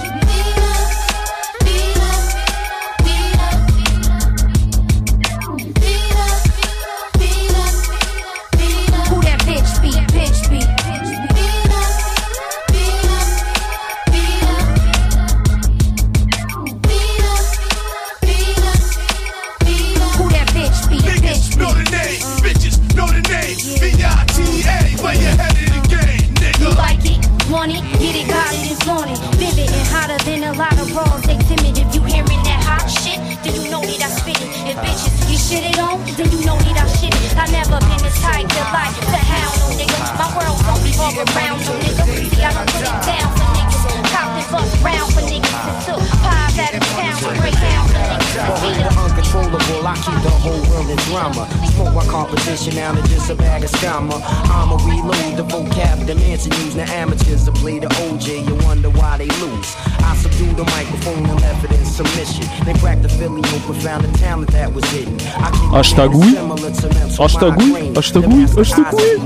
Want it, get it, got it, it's on it. Vivid and hotter than a lot of bras. They timid if you hearing that hot shit, then you know that I spit it. If bitches get shitted on, then you know that I shit it. I never been this tight to like the hound, no nigga. My world don't revolve around, no nigga. See, I don't put it down for niggas. Cop and bust round for niggas. And took pies out of town to break down for niggas. Uncontrollable, I keep the whole world in drama. Smoke my competition out of just a bag of scammer. I'ma reload the vocab, the mansion using the amateurs to play the O J. You wonder why they lose. I subdue the microphone and left it in submission. They cracked the Philly open, found the talent that was hidden. I keep Hashtag oui. Hashtag oui. Hashtag oui. Hashtag oui.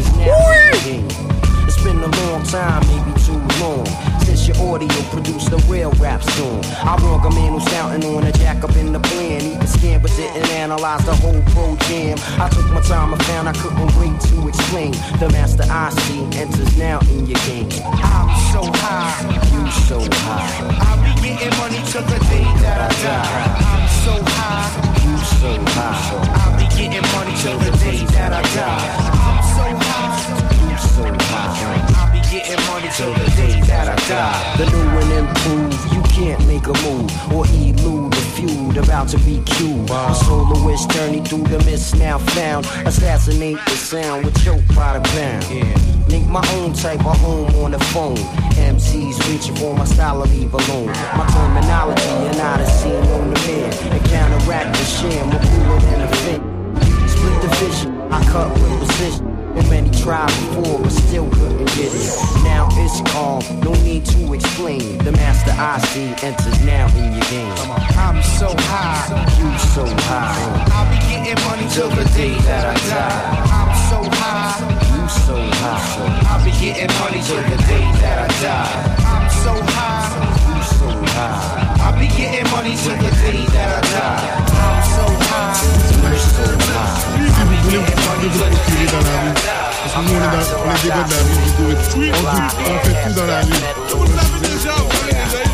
It's been a long time, maybe too long, since your audio produced a real rap song. I wrong a man who's counting on a jack up in the plan. He can scan but didn't analyze the whole pro jam. I took my time, I found I couldn't wait to explain. The master I see enters now in your game. I'm so high, you so high. I'll be getting money till the day that I die. I'm so high, you so high. I'll be getting money till the day that I die. I'm so high, you so high. I'll be getting money till the day that I die. The new and improved, you can't make a move or elude the feud about to be cued. A soloist journey through the mist now found. Assassinate the sound with choke by the pound. Link my own type of home on the phone. M Cs reaching for my style, I leave alone. My terminology and I the scene on the man. And counteract the sham, I'm cooler than a fit. Split the vision, I cut with precision. And many tried before, but still couldn't get it. Now it's calm, no need to explain. The master I see enters now in your game. I'm so high, you so high. I'll be getting money till the day that I die. I'm so high, you so high. I'll be getting money till the day that I die. I'm so high, you so high. I'll be getting money till the day that I die. I'm so high, you so high. I'll be getting money till the day that I die. Parce que nous, on est dans, on est des gars de la rue, on doit être, on, on fait tout dans la rue. Vous l'avez déjà, vous l'avez déjà,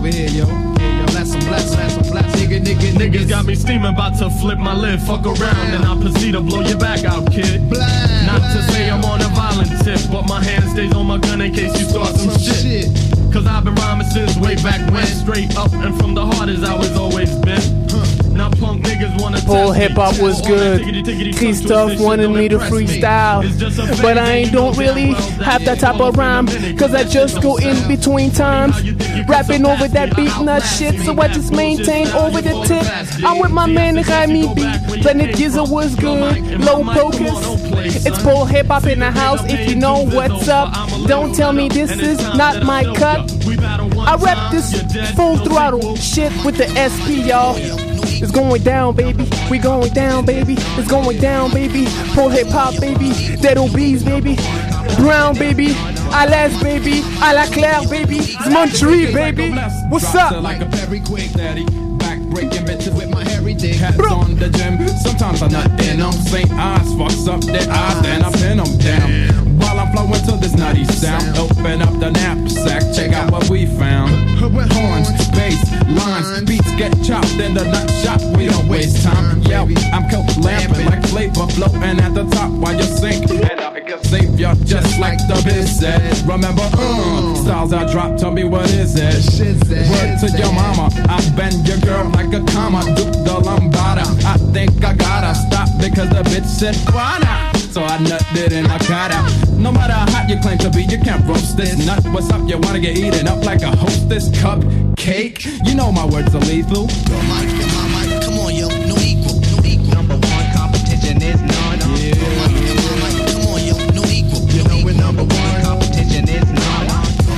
over here, yo. Yeah, yo, that's some bless, that's some bless. Nigga, nigga, niggas got me steaming, about to flip my lid. Fuck around and I'll proceed to blow your back out, kid. Blind. Not to say I'm on a violent tip, but my hand stays on my gun in case you start some, some shit. shit. Cause I've been rhyming since way back when. Straight up and from the heart as I was always been. Huh. Now punk niggas wanna Pole hip hop was good. Christophe wanted me to freestyle, but I ain't don't really have that type of rhyme, cause I just go in between times, rapping over that beat and that shit, so I just maintain over the tip. I'm with my man Rami B, Planet Giza was good, Low Pocus. It's Pole hip hop in the house, if you know what's up. Don't tell me this is not my cut. I rap this full throttle shit with the S P, y'all. It's going down, baby. We going down, baby. It's going down, baby. Pole hip hop, baby. Dead Obeez, baby. Brown, baby. À l'aise, baby. À la claire, baby. It's Montreal, baby. What's up? Like a very quick daddy. Back breaking bitches with my hairy dick. Hats on the gym. Sometimes I'm not in them. Saint eyes fucks up their eyes. Then I pin them down. While I'm flowing to this nutty sound, open up the knapsack, check out what we found. Horns, bass, lines, beats get chopped in the nut shop. We don't waste time. Yo, I'm coke lamping like flavor floating at the top while you sink. And I can save ya just like the biz said. Remember, uh, styles I drop, tell me what is it? Word to your mama, I bend your girl like a comma. Duke the lambada, I think I gotta stop because the bitch said why not? So I nutted it and I got out. No matter how hot you claim to be, you can't roast this nut. What's up? You wanna get eaten up like a hostess cupcake? You know my words are lethal. Yo, Mike, yo, Mike, come on, yo, no equal, no equal. Number one competition is none. Yeah, yeah. Come on, yo, no equal, no you know equal. Number one competition is none.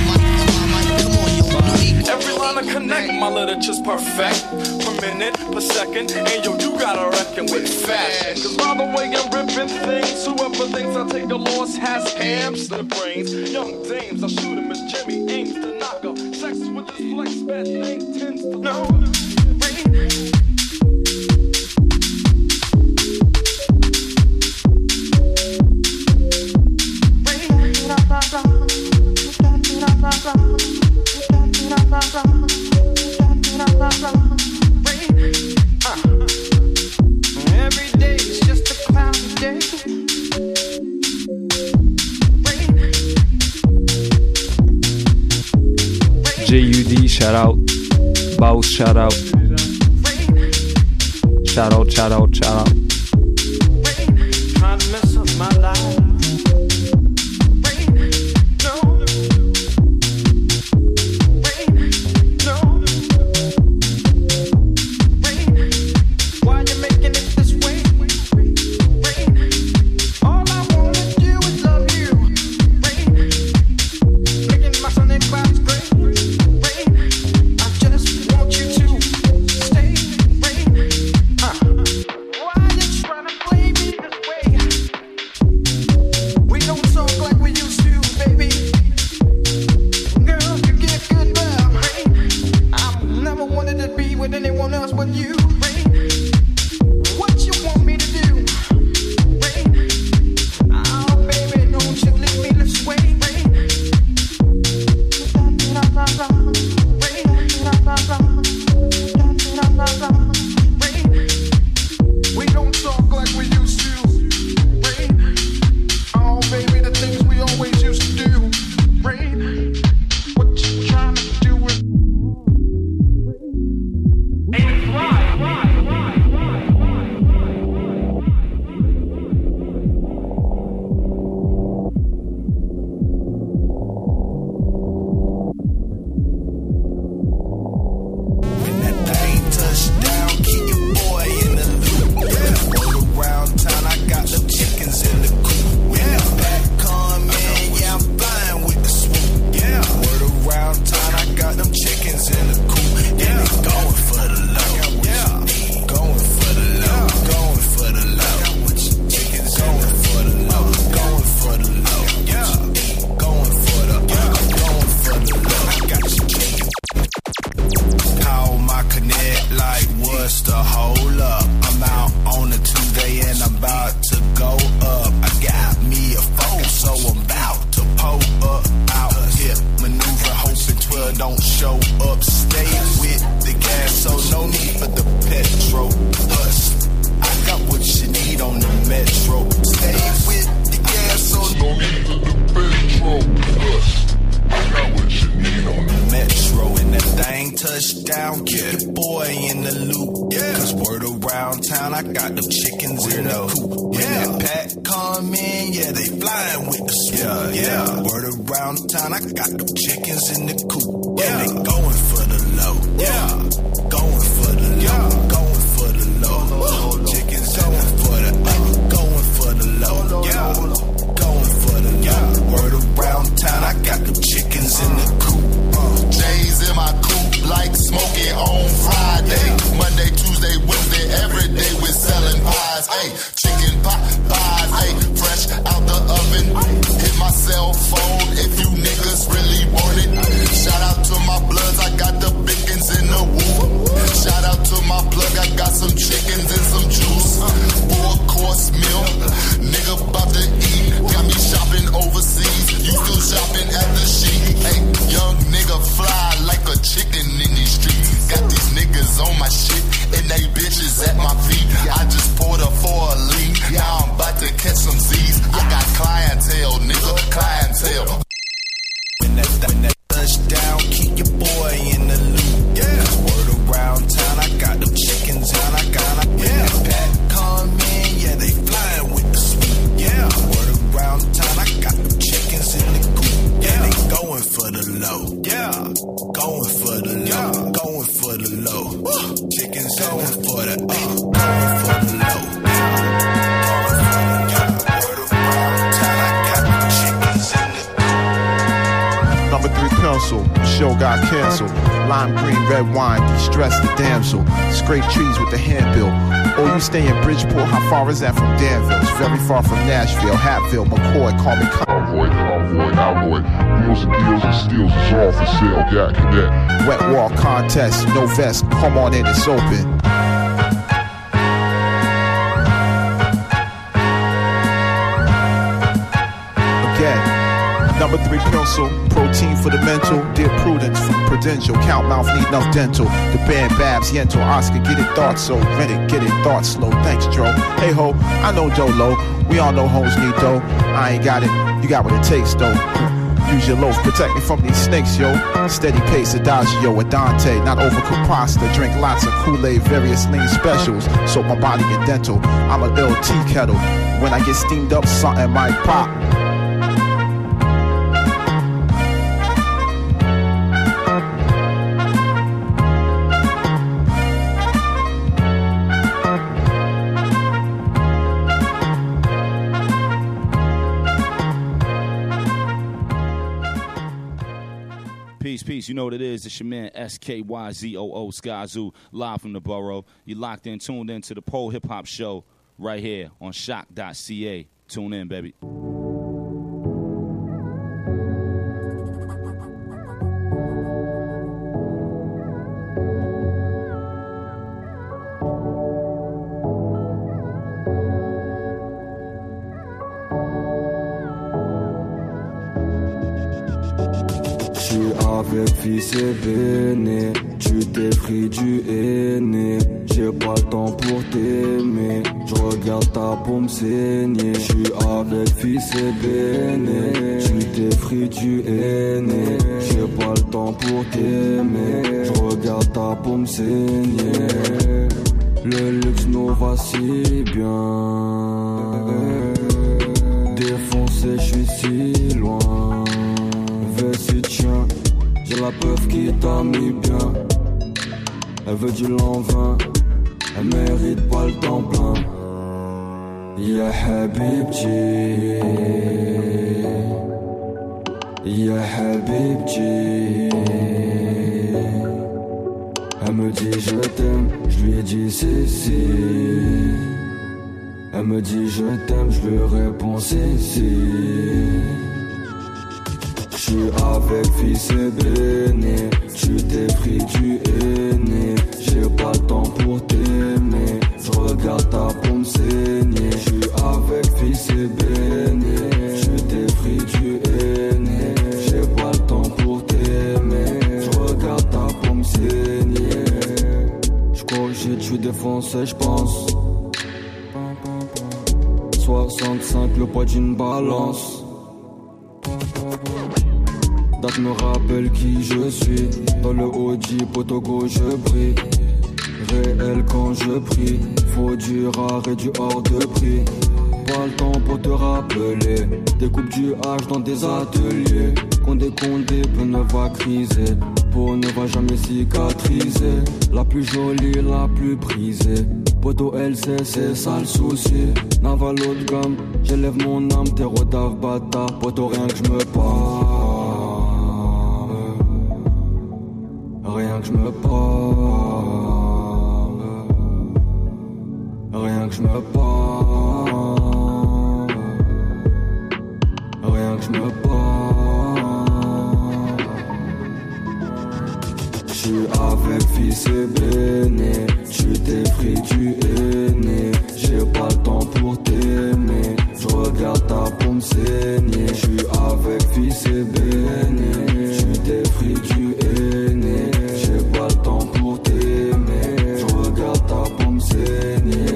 Come on, yo, no equal. Every line I connect, my literature's perfect. Per minute, per second, and yo, you gotta reckon with fashion. Cause by the way I'm ripping things, whoever thinks I take a loss has hamster brains. Young dames, I shoot him as Jimmy aims to knock up. Sex with this flex, bad thing tends to know. Every day is just a cloudy day. J U D, shout out. Baus, shout out. Shout out, shout out, shout out. Trying to mess up my life. don't show up, stay with the gas, so no need for the petrol. Hush, I got what you need on the metro. Stay with the gas, so no need for the petrol. Hush, I got what you need on the metro. And that thing touchdown, keep yeah. your boy in the loop. Yeah. Cause word around town, I got them chickens Weirdo. in the coop. When yeah. that pack come in, yeah, they flying with the swoop. Yeah, yeah. yeah. Word around town, I got them chickens in the coop. Yeah, yeah. They going for the low. Yeah, going for the low. Yeah. Going for the low. low. Chickens going for the uh, going for the low. Yeah, going for the yeah. Word around town, I got them chickens in the coop. Uh, J's in my coop like smoking on Friday. Monday, Tuesday, Wednesday, every day we're selling pies. Hey, chicken pot pies. Hey, fresh out the oven. Hit my cell phone if you niggas really want it. Shout out to my bloods, I got the biggins in the woo. Shout out to my plug, I got some chickens and some juice. Four course meal, nigga about to eat. Got me shopping overseas, you still shopping at the sheet. Hey, young nigga fly like a chicken in these streets. Got these niggas on my shit and they bitches at my feet. I just poured her for a lean, now I'm about to catch some Z's. I got clientele, nigga, clientele. When that, when that touchdown, keep your boy in the loop. Yeah, word around town, I got them chickens and I got a yeah. When that pack come in, yeah, they flying with the swoop. Yeah, word around town, I got them chickens in the coop. Yeah, they going for the low. Yeah, going for the low. Yeah. Going for the low. Woo. Chickens going for the uh, going for the low. Number three pencil, show got canceled. Lime green, red wine, de-stress the damsel. Scrape trees with the handbill. Oh, you stay in Bridgeport, how far is that from Danville? It's very far from Nashville, Hatfield, McCoy, call me Convoy, Convoy, Alloy. Deals and deals and steals is all for sale, got cadet. Wet wall contest, no vest, come on in, it's open. Again. Number three pencil, protein for the mental. Dear Prudence from Prudential, count mouth need enough dental. The band Babs, Yento, Oscar, get it thought so. Rent it, get it thought slow. Thanks, Dro. Hey ho, I know Dolo. We all know hoes need dough. I ain't got it, you got what it takes though. Use your loaf, protect me from these snakes, yo. Steady pace, Adagio with Dante. Not overcooked pasta, drink lots of Kool-Aid, various lean specials. Soak my body in dental. I'm a L T kettle. When I get steamed up, something might pop. Peace, peace. You know what it is. It's your man S K Y Z O O Skyzoo, live from the borough. You locked in, tuned in to the Pole Hip Hop Show right here on shock dot c a. Tune in, baby. Avec fils et béné, tu t'es pris du aîné. J'ai pas le temps pour t'aimer, je regarde ta peau me saigner. J'suis avec fils et béné, tu t'es pris du aîné. J'ai pas le temps pour t'aimer, je regarde ta peau me saigner. Le luxe nous va si bien, défoncé j'suis si loin. Vas-y tiens, j'ai la preuve qui t'a mis bien. Elle veut du l'an vingt, elle mérite pas le temps plein. Ya Habibti, Ya Habibti. Elle me dit je t'aime, je lui ai dit si si. Elle me dit je t'aime, je lui réponds si si. J'suis avec fils et béné, tu t'es pris du aîné. J'ai pas le temps pour t'aimer, j'regarde ta peau me saigner. J'suis avec fils et béné, tu t'es pris du aîné. J'ai pas le temps pour t'aimer, défoncé, j'pense. soixante-cinq, le poids d'une balance. Date me rappelle qui je suis. Dans le Audi, Potogo, je brille. Réel quand je prie. Faut du rare et du hors de prix. Pas le temps pour te rappeler. Découpe du H dans des ateliers. Condé, condé, peu ne va criser. Peau ne va jamais cicatriser. La plus jolie, la plus prisée. Poto L C, c'est ça le souci. Naval haut de gamme, j'élève mon âme. Terreau d'ave bâtard, poto rien que je me parle. Rien que je me parle. Rien que je me parle. Rien que je me parle. J'suis avec fils et béné. Tu t'es pris, tu es né. J'ai pas le temps pour t'aimer. J'regarde ta paume saigner. J'suis avec fils et béné. Tu t'es pris, tu es né. J'ai pas le temps pour t'aimer. J'regarde ta paume saigner.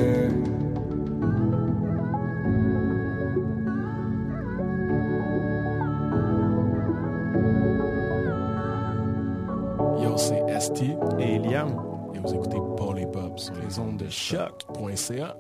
Yo, c'est S T et Eliam. Et vous écoutez Paul et Bob sur les ondes de choc point c a.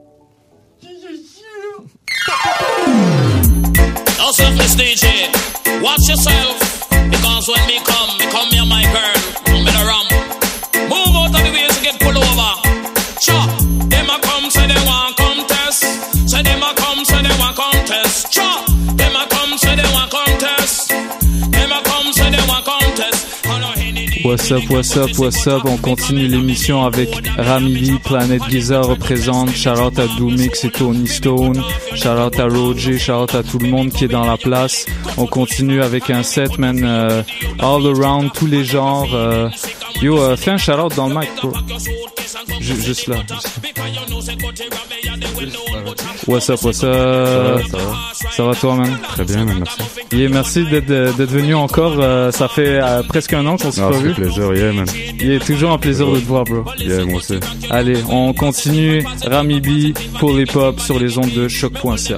Now, self-less D J, watch yourself, because when me come, me come here, my girl, come me the ram. Move out of the way to get pulled over. Chop, them a come, say they want contest. Say them a come, say they want contest. Chop, them a come, say they want contest. Them a come, say they want contest. What's up, what's up, what's up? On continue l'émission avec Rami Lee, Planet Giza représente. Shout out à Doomix et Tony Stone. Shout out à Roger. Shout out à tout le monde qui est dans la place. On continue avec un set, man, uh, all around, tous les genres. Uh, yo, uh, fais un shout out dans le mic, bro. J- juste là. Juste là. What's up, what's up? Ça va, ça va. Ça va toi, man? Très bien, man, merci. Yeah, merci d'être, d'être venu encore. Euh, ça fait euh, presque un an qu'on s'est non, pas vu. C'est un plaisir, yeah, man. Yeah, toujours un plaisir de te voir, bro. Yeah, moi aussi. Allez, on continue. Rami B pour les pop sur les ondes de choc point c a.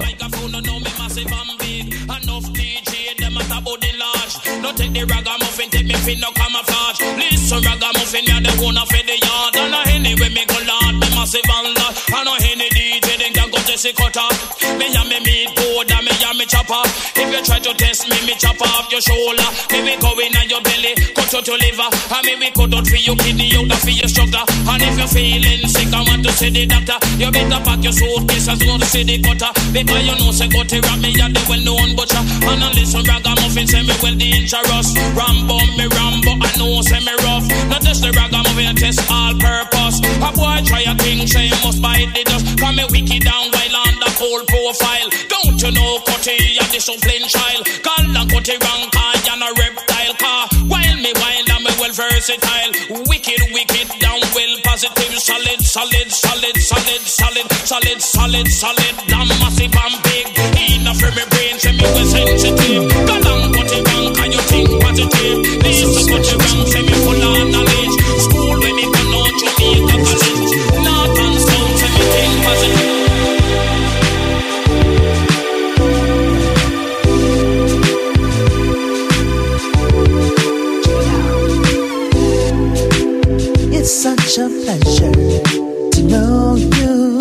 Take the ragamuffin, take me fin no camouflage. Listen, ragamuffin, you're the one of the yard. And I anyway me go lord, me massive and lot. I know any D J, then can go Jesse Cutter. Me and me meat board, and me and me chopper. If you try to test me, me chop off your shoulder. Me we go in on your belly, cut out your liver. And me we cut out for your kidney, out for your sugar. And if you're feeling sick, I want to see the doctor. You better pack your suitcase and go to see the cutter. Because you know, say, go to rap me, you're the well-known butcher. And I listen, ragamuffin, say me well dangerous. Rambo, me Rambo, I know say me rough. Not just the ragamuffin, test all purpose. A boy try a thing, say you must bite the dust. Cause me wicked down while on the cold profile. Don't you know Cutty, you're the shuffling child. Call and Cutty rank, you're a reptile car. While me wild and me well versatile. Wicked, wicked, down well positive. Solid, solid, solid, solid, solid, solid, solid, solid. Damn massive and big. Enough for me brain, say me well sensitive. Call and Cutty rank, and you think positive. Listen, Cutty rank, say me full of knowledge. School when me go out, Jamaica college. North and south, say me think positive. It's such a pleasure to know you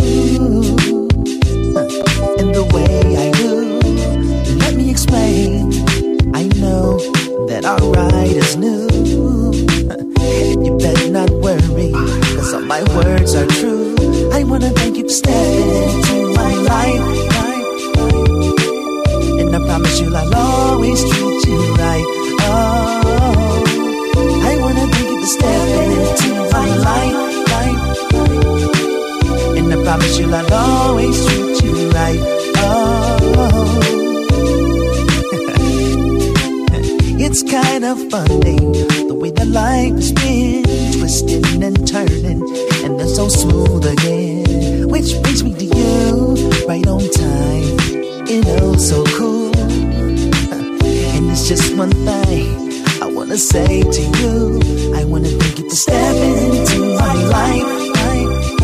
in the way I do. Let me explain. I know that our ride is new. And you better not worry, cause all my words are true. I wanna thank you for stepping into my life, life, life. And I promise you I'll always treat you right. Oh, I wanna thank you for stepping into my life, life, life. And I promise you I'll always treat you right. Oh, it's kind of funny the way that life has been twisting and turning, and then so smooth again. Which brings me to you right on time, you know, so cool. And it's just one thing I wanna say to you. I wanna thank you for stepping into my life, life.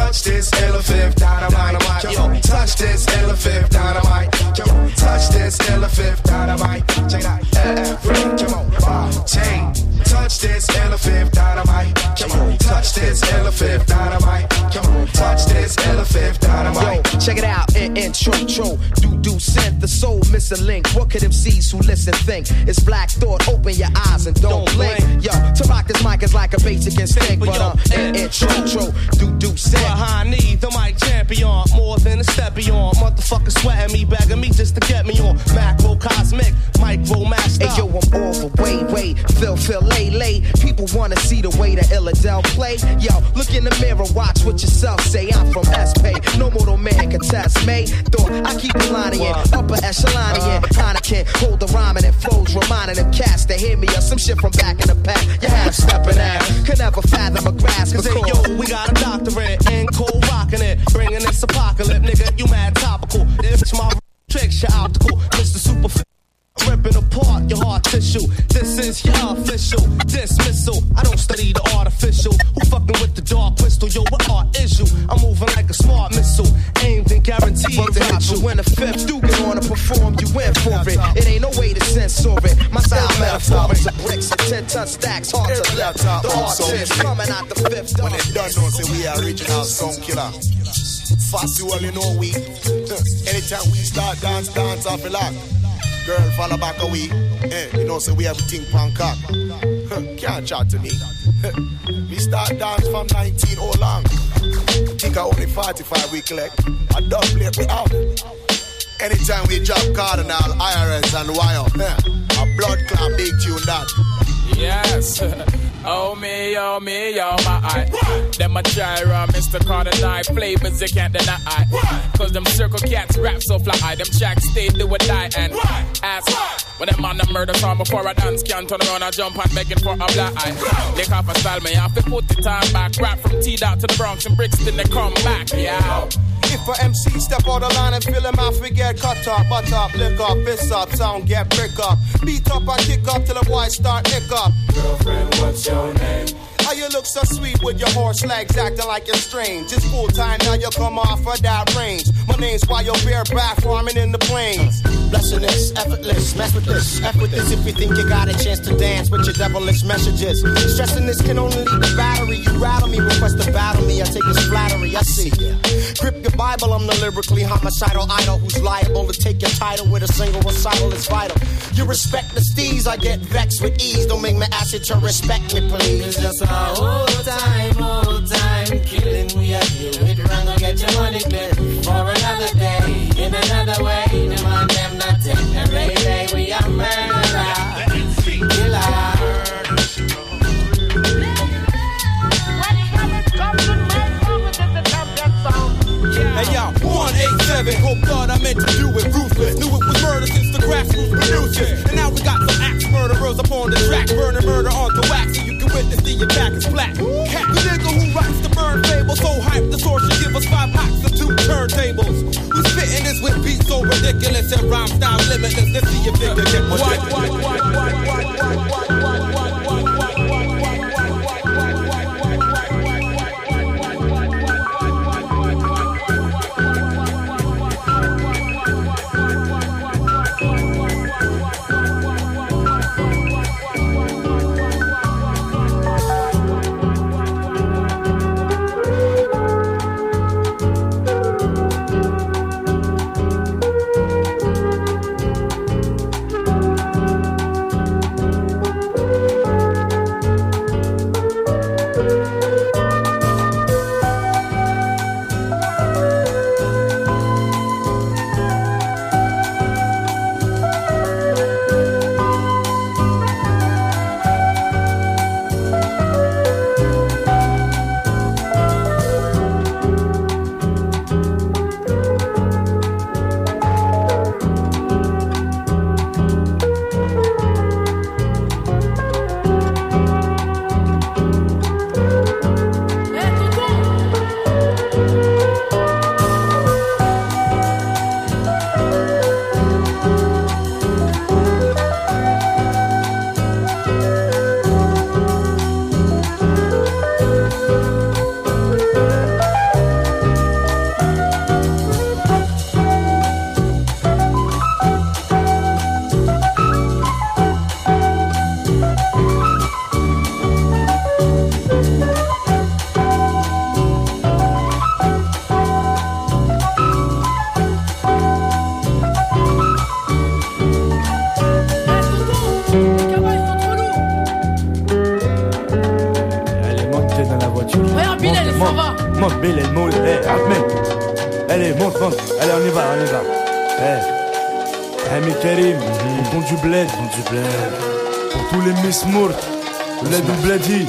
touch this elephant dynamite. Yo, touch this elephant dynamite. Come on, touch this elephant dynamite. Check it out. Every, come on, uh, chain. Touch this elephant dynamite. Come on, touch this elephant dynamite. Come on, touch this elephant dynamite. Yo, check it out. In intro, tro, do do sent the soul missing link. What could M Cs who listen think? It's black thought. Open your eyes and don't, don't blink. blink. Yo, to rock this mic is like a basic instinct, but um, in intro, tro, do do sent. Behind me, the mic champion, more than a steppy on. Motherfucker sweating me, begging me just to get me on. Macro cosmic, micro master. Hey yo, I'm all the way, way, Phil, Phil, lay, lay. People wanna see the way that Illadel play. Yo, look in the mirror, watch what yourself say. I'm from S-Pay, no mortal man can test me. Thought I keep the line in, upper echelon in. Heineken, hold the rhyming and flows, reminding them cats to hear me or some shit from back in the pack. You have stepping out, could never fathom a grasp. Cause hey, yo, we got a doctorate in cold rocking it, bringing this apocalypse, nigga. You mad topical? It's my tricks, your optical, Mister Super. Ripping apart your heart tissue. This is your official dismissal. I don't study the artificial. Who fucking with the dark crystal? Yo, what art is you? I'm moving like a smart missile, aimed and guaranteed to hit you. When the fifth do get on to perform, you in for it. It ain't no way to censor it. My style metaphoric to bricks and ten ton stacks. Hard to lift. The artist coming out the fifth. When it done, don't say we are original sound killer. Fast you all you know we. Anytime we start dance, dance off a lot. Girl, follow back away. Eh, you know, say we everything pancake. Huh, can't chat to me. We start dance from nineteen oh long. Think I only forty-five we collect. I double it we out. Anytime we drop Cardinal, I R S and Wire. Eh, a blood clot big tune that. Yes. Oh me, oh me, oh my eye. Them a try run, Mister Cardinal. Flavors you can't deny. Cause them circle cats rap so fly. Them tracks stay do or die and ask. When them on the murder song before I dance, can't turn around and jump and begging for a black eye. Lick off a style, me have to put the time back. Rap from T-Dot to the Bronx and Brixton, they come back, yeah. If a M C step out the line and fill him out, forget cut up, butt up, lick up, fist up, sound get brick up. Beat up and kick up till the boys start nick up. Girlfriend, what's your name? How you look so sweet with your horse legs acting like you're strange. It's full time now you come off of that range. My name's why you're bareback farming in the plains. Blessedness, effortless, mess with this. F with this if you think you got a chance to dance with your devilish messages. Stressing this can only lead to battery. You rattle me, request to battle me. I take this flattery, I see ya. Grip your Bible, I'm the lyrically homicidal idol who's liable to take your title with a single recital. It's vital. You respect the steez, I get vexed with ease. Don't make me ask you to respect me, please. It's just a whole time, whole time killing. We are here with run, go get your money clear for another day, in another way. The man them not take every day. We are murderer, killer. Hey y'all, one eight seven, hope God I meant to do it ruthless. Knew it was murder since the grassroots producers. And now we got some axe murderers up on the track, burning murder onto wax, so you can witness the your back is flat. Cat the nigga who writes the burn fable, so hype the source should give us five packs and two turntables. We spitting this with beats so ridiculous and rhyme style limitless. Let's see if they can get what, what, what, what, what, what, what, trente. Allez, on y va, on y va. Eh, hey, mais Karim, on compte du bled. On compte du bled. Pour tous les Miss Mourt, bled ou bledi.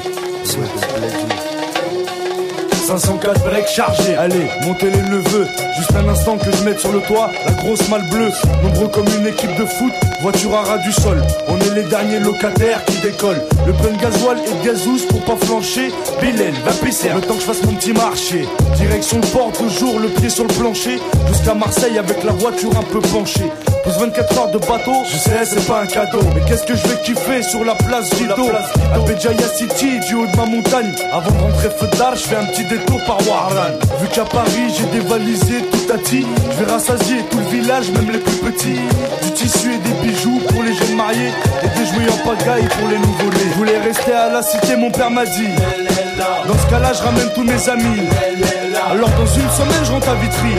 cinq cent quatre breaks chargés, allez, montez les neveux. Juste un instant que je mette sur le toit la grosse malle bleue. Nombreux comme une équipe de foot, voiture à ras du sol. On est les derniers locataires qui décollent. Le plein de gasoil et de gazouze pour pas flancher. Bilal, va pisser, le temps que je fasse mon petit marché. Direction le port, toujours le pied sur le plancher. Jusqu'à Marseille avec la voiture un peu penchée. Plus vingt-quatre heures de bateau, je sais c'est pas un cadeau. Mais qu'est-ce que je vais kiffer sur la place Guido. À Béjaïa City, du haut de ma montagne. Avant de rentrer feu d'art, je fais un petit détour par Warran. Vu qu'à Paris j'ai dévalisé tout à ti, je vais rassasier tout le village, même les plus petits. Du tissu et des bijoux pour les jeunes mariés, et des jouets en pagaille pour les nouveau-nés. Je voulais rester à la cité, mon père m'a dit. Dans ce cas-là je ramène tous mes amis. Alors dans une semaine je rentre à Vitry.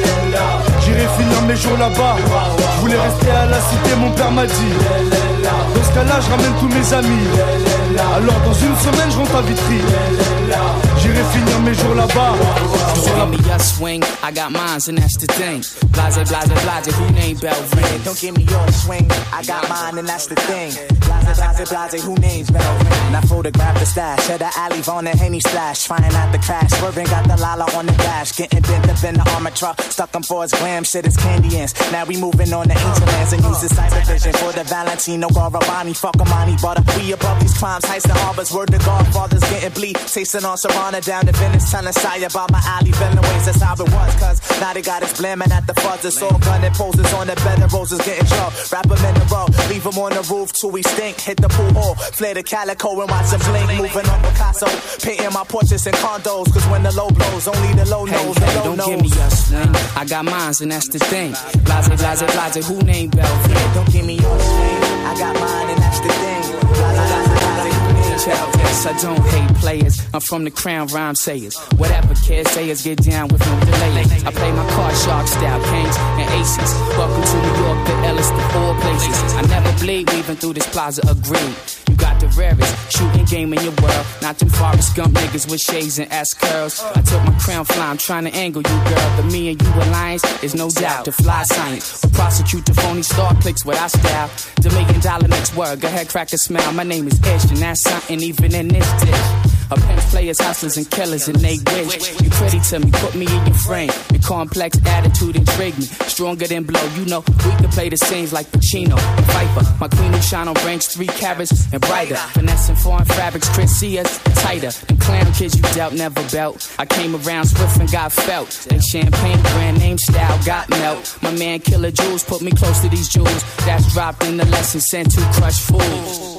J'irai finir mes jours là-bas. Je voulais rester à la cité, mon père m'a dit. Dans ce cas-là je ramène tous mes amis. Alors dans une semaine je rentre à Vitry. J'irai finir mes jours là-bas. Don't give me your swing, I got mines and that's the thing. Blase, blase, blase, who named Belvin? Don't give me your swing, I got mine and that's the thing. Blase, blase, blase, who names Belvin? I photographed the stash, at the alley on the Henny splash. Flying out the crash, swerving, got the Lala on the dash. Getting bent up in the armor truck, stuck them for his glam, shit is candy ants. Now we moving on the ancient lands and use the cyber vision for the Valentino Garavani. Fuck Amani, butter. We above these crimes, heists and harbors. Word to Godfathers getting bleed. Tasting on Serrana down to Venice, telling Saya about my alley. Villain ways, that's how it was. Cause now they got us blamming at the fuzz. It's all gunning poses on the bed of roses getting drugged. Wrap them in the row, leave them on the roof till we stink. Hit the pool hall, flare the calico and watch them blink. Moving on Picasso, painting my portraits in condos. Cause when the low blows, only the low Hey, knows. hey, The low don't knows. give me your swing, I got mines and that's the thing. Blase, blase, blase, who named Belvin? Don't give me your swing, I got mine and that's the thing. Blase, blase, blase, who named Yes, I don't hate players. I'm from the crown rhyme sayers. Whatever kids say is get down with no delay. I play my card sharp style, kings and aces. Welcome to New York, the illest of all places. I never bleed, weaving through this plaza of green. You got the rarest shooting game in your world. Not them Forrest Gump niggas with shades and ass curls. I took my crown fly, I'm trying to angle you, girl. The me and you alliance is no doubt. The fly science will prosecute the phony star clicks with our style. The million dollar next word, go ahead, crack a smile. My name is Ish, and that's something even in this dish. A pimps, players, hustlers, and killers, and they wish. You pretty to me, put me in your frame. Your complex attitude intrigue me. Stronger than blow, you know, we can play the scenes like Pacino and Viper. My queen who shine on ranks, three carats and brighter. Finessing foreign fabrics, Chris see us tighter. Them clown kids you dealt, never belt. I came around swift and got felt. They champagne brand name style got melt. My man Killer Jules put me close to these jewels. That's dropped in the lesson sent to crush fools.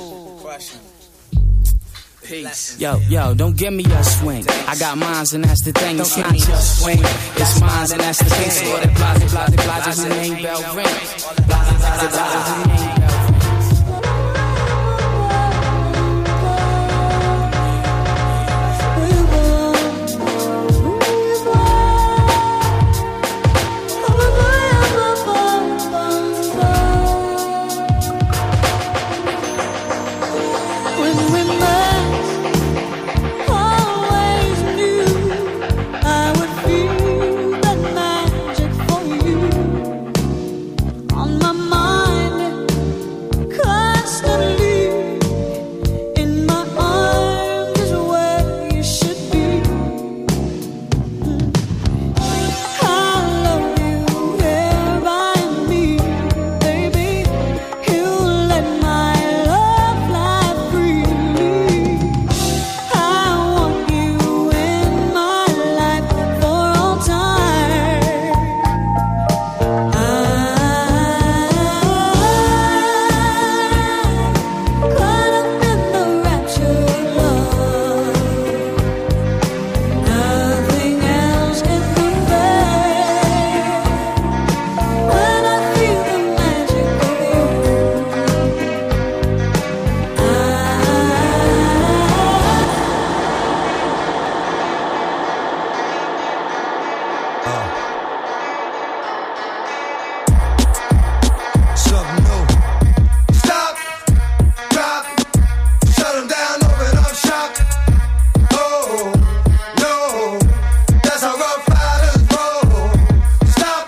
Peace. Yo, yo, don't give me a swing. I got mines and that's the thing. It's not your swing, it's mines and that's the thing. So that blase, blase, blase, who named bell ring. Blase, blase, blase, who named bell ring. On my mind, Stop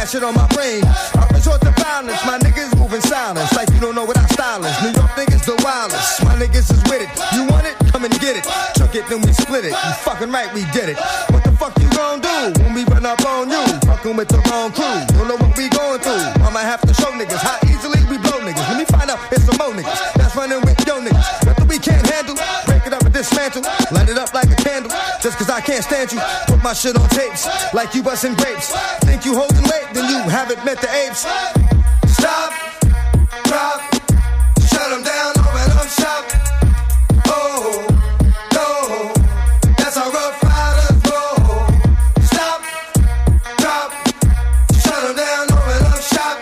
shit on my brain. I resort to violence, my niggas moving silence. Like you don't know what our style is. New York niggas the wildest. My niggas is with it. You want it? Come and get it. Took it, then we split it. You fucking right, we did it. What the fuck you gon' do when we run up on you? Fucking with the wrong crew. Don't know what we going through. I'ma have to show niggas how easily we blow niggas. Let me find out it's some more niggas that's running with yo niggas. Nothing we can't handle. Break it up and dismantle. Light it up like a candle. Just cause I can't stand you. Put my shit on tapes like you busting grapes. Think you holding weight, then you haven't met the apes. Stop, drop, shut them down, open up shop. Oh, no, that's how rough riders roll. Stop, drop, shut them down, open up shop.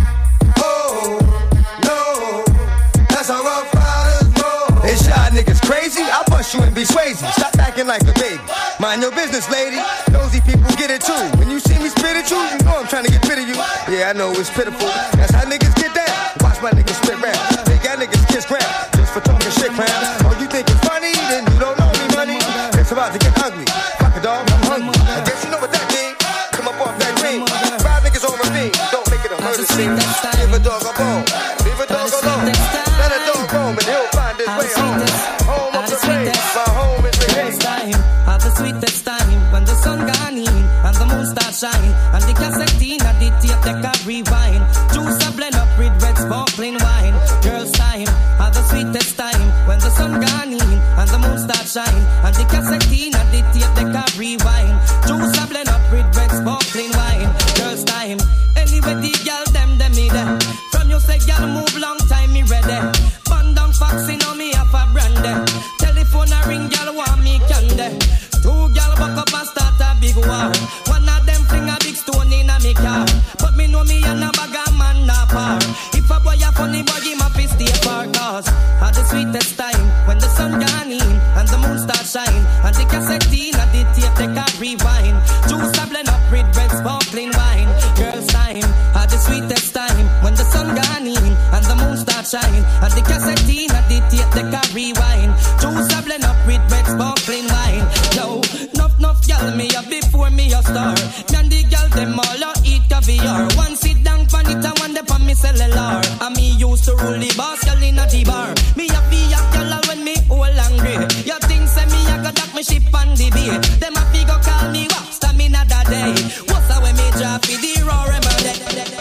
Oh, no, that's how rough riders roll. It's y'all niggas crazy, I'll bust you and be Swayze. Stop acting like a baby, mind your business, lady. Nosy people get it too. When you see me spit at you, you know I'm trying to get rid of you. Yeah, I know it's pitiful, that's how niggas get down. Watch my niggas spit rap, they got niggas kiss ground. Just for talking shit, crown. Oh, you think it's funny, then you don't know me, money. It's about to get ugly, fuck a dog, I'm hungry. I guess you know what that means, come up off that dream. Five niggas on ravine, don't make it a murder scene. Give a dog a bone, leave a dog alone. Let a dog roam and he'll find his way home. Home of the rain, my home is the game. Have the sweetest time when the sun gone in and the moon start shine and the cassette in and the tape deck a rewind. Juice a blend up with red sparkling wine. Girls time, have the sweetest time when the sun gone in and the moon start shine and the cassette in and the tape deck a rewind. Juice a blend up with red sparkling wine. Girls time, anyway the girl them them me there. From you say girl move long time me ready. Band down foxy now me have a brandy. Telephone a ring girl want me candy. Two gal buck up and start a big war. One of them fling a big stone in a me car. But me know me and a bag a man na par. If a boy a funny boy, him a fi stay far. Cause had the sweetest time when the sun gone in and the moon start shine and the cassette in and the tape deck a rewind. Juice a blend up with red sparkling wine. Girls time had the sweetest time when the sun gone in and the moon start shine and the cassette in and the tape deck a rewind. Juice a blend up with red sparkling wine. Yo, nuff nuff gal me up before me a star. Me and the gal them all a eat caviar. One sit down pan it and one dey pan me cellular. And me used to rule the boss gal in a G-bar. Me a be a gal when me all angry. You think say me a go dock me ship on the bay. Them a fi go call me what? Stamina that day. What's a way me drop fi the raw remedy?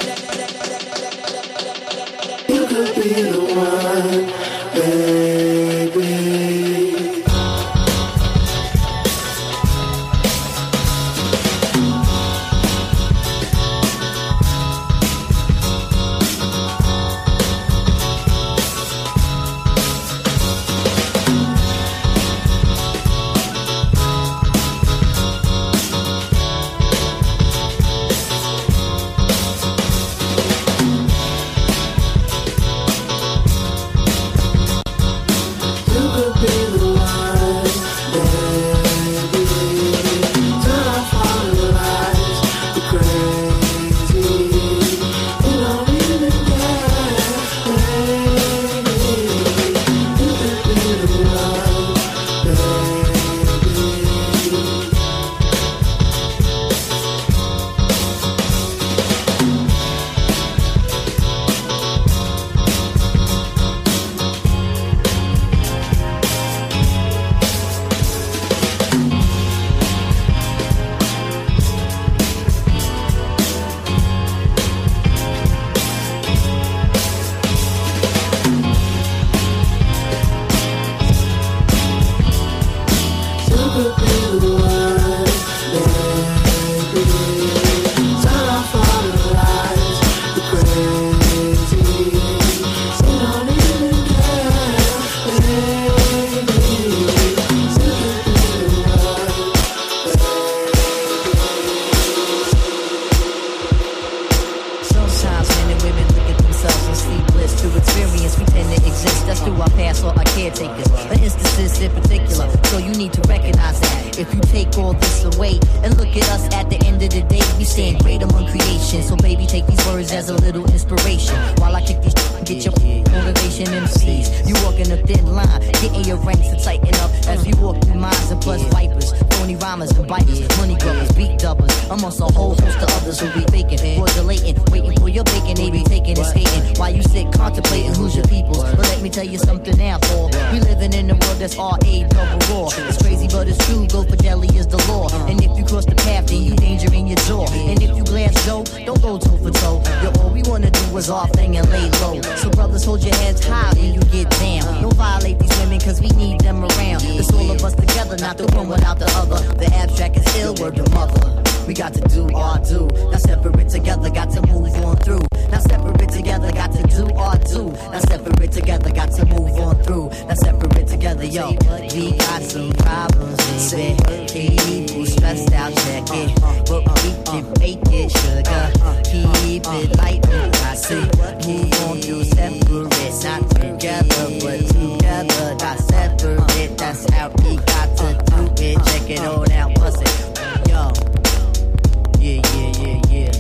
You could be the one, baby. caretakers, for instances in particular. So you need to recognize that. If you take all this away and look at us at the end of the day, we stand great among creation. So baby, take these words as a little inspiration. While I kick these get your motivation M Cs. You walking a thin line, getting your ranks to tighten up as we walk through minds and plus vipers. Throwing phony rhymers and biters, money grubbers, beat dubbers, amongst a whole host of others who be faking, fraudulating, waiting for your bacon, they be taking and skating, while you sit contemplating who's your peoples. But let me tell you something now, Paul, we living in a world that's R A double raw. It's crazy but it's true, go for deli is the law, and if you cross the path then you danger in your jaw, and if you glance Joe, don't go toe for toe, yo, all we wanna do is our thing and lay low, so brothers hold your heads high when you get down, don't violate these women cause we need them around, it's all of us together, not the one without the other, the abstract is ill, word to mother. We got to do our do. Now separate together, got to move on through. Now separate together, got to do our do. Now separate together, got to move on through. Now separate together, yo. We got some problems, baby. People stressed out, check it. But we can make it, sugar. Keep it light, I say. Move on through separate, not together, but together, not separate. That's how we got to do it. Check it all out, bust it, yo. Yeah, yeah, yeah, yeah.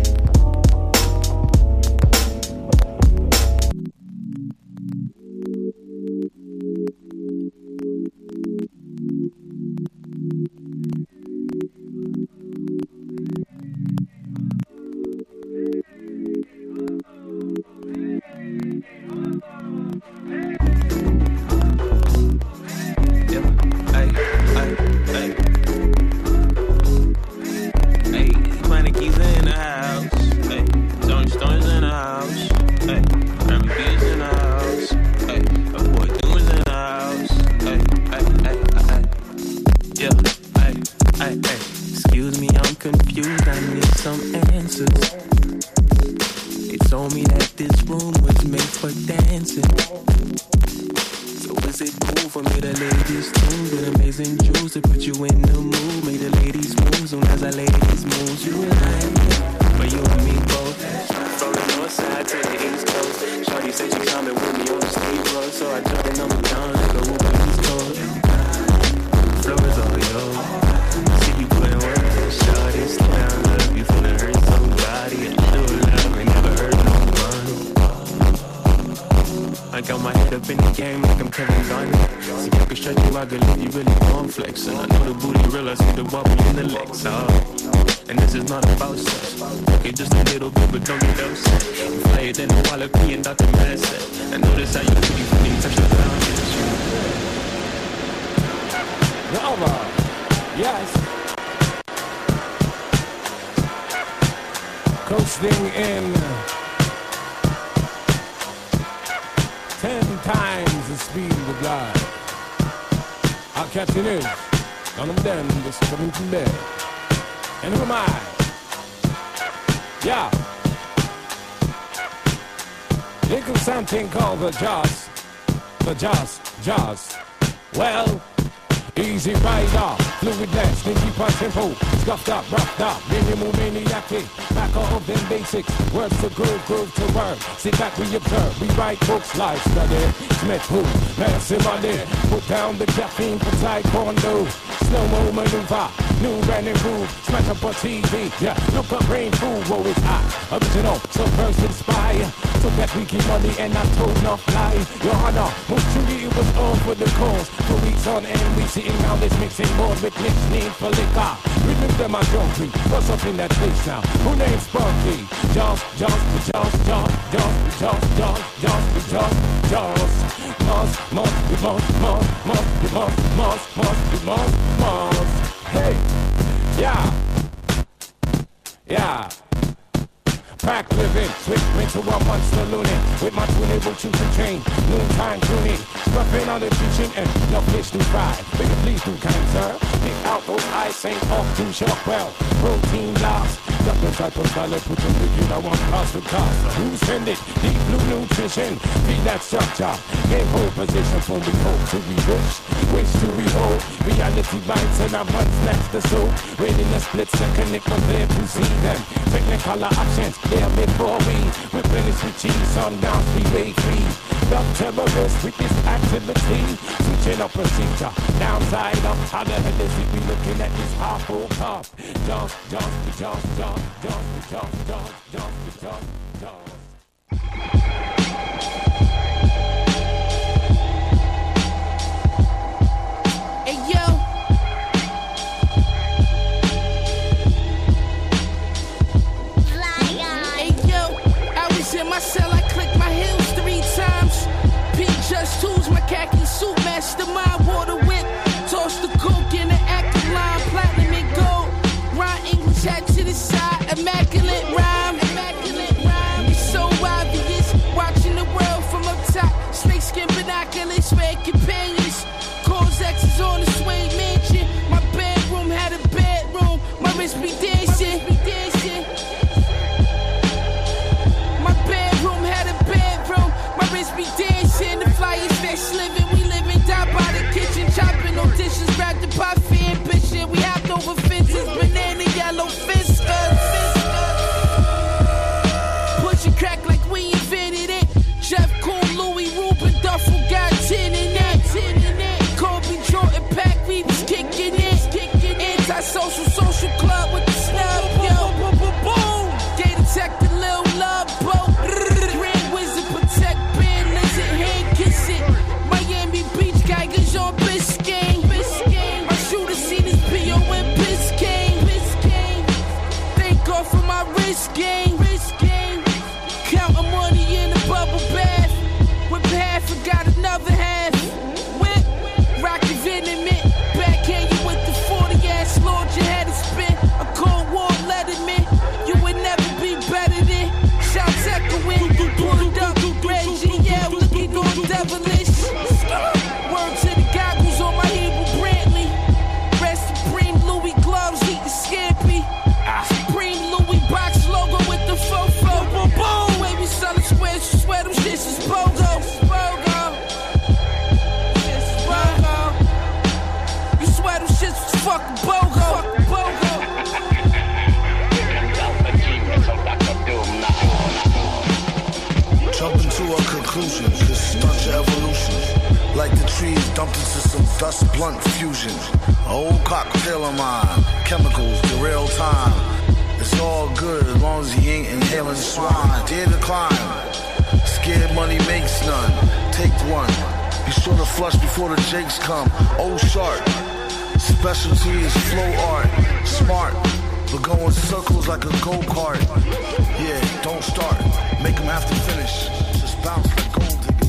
Something called the Jaws, the Jaws, Jaws. Well, easy rider, fluid dance, sneaky punch tempo, scuffed up, roughed up, minimal maniac, back of them basics, words to groove, groove to word. Sit back, we observe, we write books, live study, Smith who, massive money, put down the caffeine for taekwondo, slow-mo maneuver, new running groove, smash up on T V, yeah, look up brain food, whoa, it's hot, original, so first inspire. Took that weekly money and I told enough lie. Your Honor, most truly it was all for the cause. For weeks on end, we sitting down this mixing board with mixed need for liquor. Remember my country, what's up in that place now? Who name's Sparky? Jaws, Jaws, Jaws, Jaws, Jaws, Jaws, Jaws, Jaws, Jaws, Jaws. Moss, Moss, Moss, Moss, Moss, Moss, Moss, Moss, Moss, Moss. Hey, yeah, yeah. Pack living, switch into a monster loony. With my twin able to chain, noontime tuning. Scruffing on the teaching and no fish to fry. Will you please do kind, sir? Pick out those eyes, ain't off too sharp. Well, protein loss. Got the type of salad, put your figure I want cost to cost. Who send it? Deep blue nutrition. Feed that structure. Game hold position for we hope to be rich. Wish to behold. Reality bites and our months next to so. Waiting a split second, it was there to see them. Technicolor options. There before we replenish with cheese on down freeway free. The terrorists with this activity, switching up procedure, downside up. How the hell is it we looking at this half-full cup? Jump, jump, jump, jump, jump, jump, jump, jump, jump, jump. Hey yo, intrusion, this stunt your evolution. Like the trees dumped into some dust blunt fusion. A old cocktail of mine, chemicals, the real time. It's all good as long as he ain't inhaling swine. Dare to climb, scared money makes none. Take one, be sure to flush before the jakes come. Oh sharp, specialty is flow art. Smart, but go in circles like a go-kart. Yeah, don't start, make them have to finish. Just bounce like gold diggers.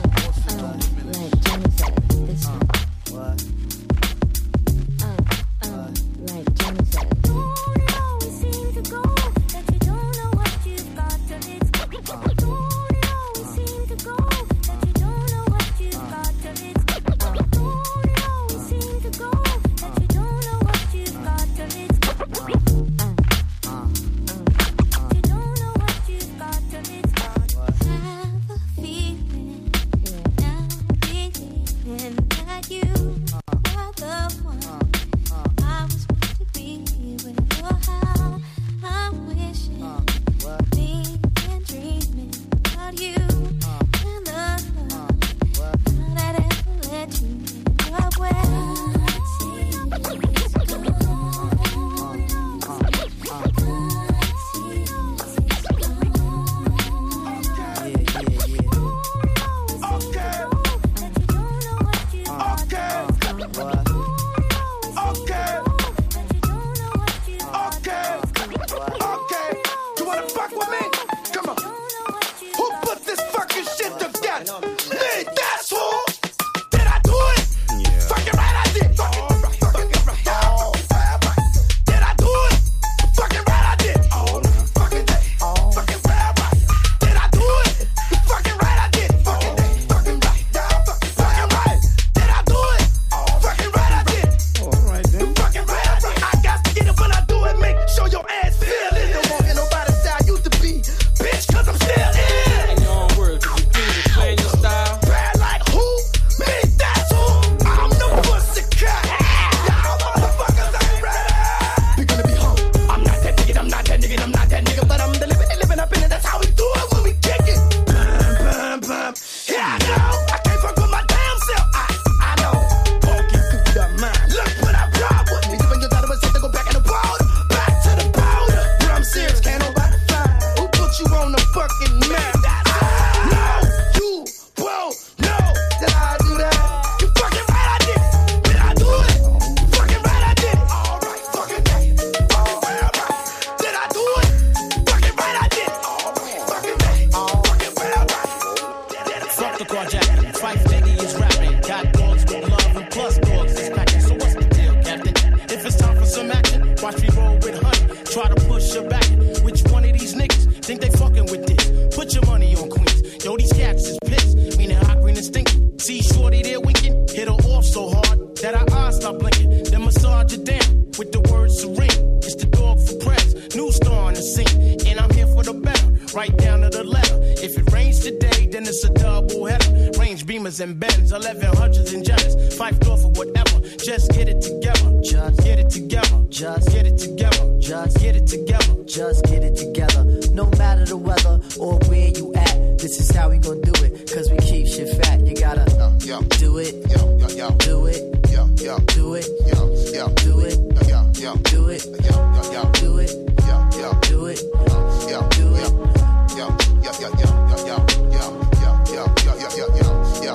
And Benz, eleven hundreds and Jenners, five door for whatever. Just get it together. Just get it together. Just get it together. Just get it together. Just get it together. No matter the weather or where you at, this is how we gon' do it. Cause we keep shit fat. You gotta yo, yo. do it. Yo, yo, yo. Do it. Yo, yo. Do it. Yo, yo. Do it. Yo, yo. Do it. Yo, yo, yo. Do it. Yo, yo. Do it. Yo, do it. Yo, yo, yo, yo, yo, yo, yo, yo, yo, yo, yo, yo, yo.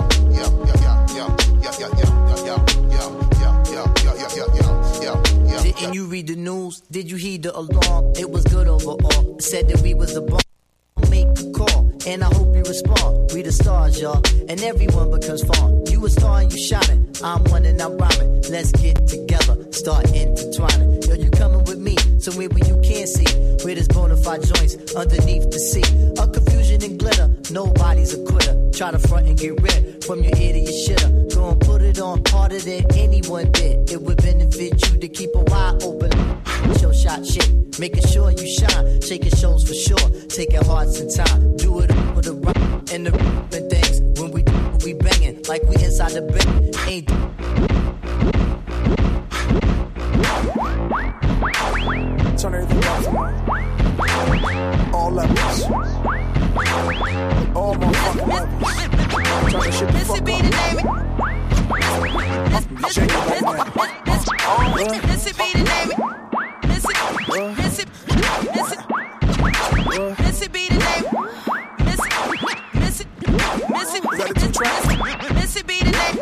Didn't you read the news? Did you heed the alarm? It was good overall. It said that we was a bomb. Make a call, and I hope you respond. We the stars, y'all, and everyone becomes fun. You a star and you shining. I'm one and I'm rhyming. Let's get together, start intertwining. Yo, you coming with me, somewhere where you can't see. Where there's bona fide joints underneath the sea. A confusion and glitter, nobody's a quitter. Try to front and get rid from your ear to your shitter. Go and put it on harder than anyone did. It would benefit you to keep a wide open. Show shot shit, making sure you shine. Shaking shows for sure, taking hearts and time. Do it with the rock and the and things. When we we banging like we inside the bed. Ain't turn everything off. All levels. All motherfucking levels. Missy be the name. Missy be the name. Missy, Missy, Missy, Missy be the name. Missy, Missy, Missy, Missy be the name.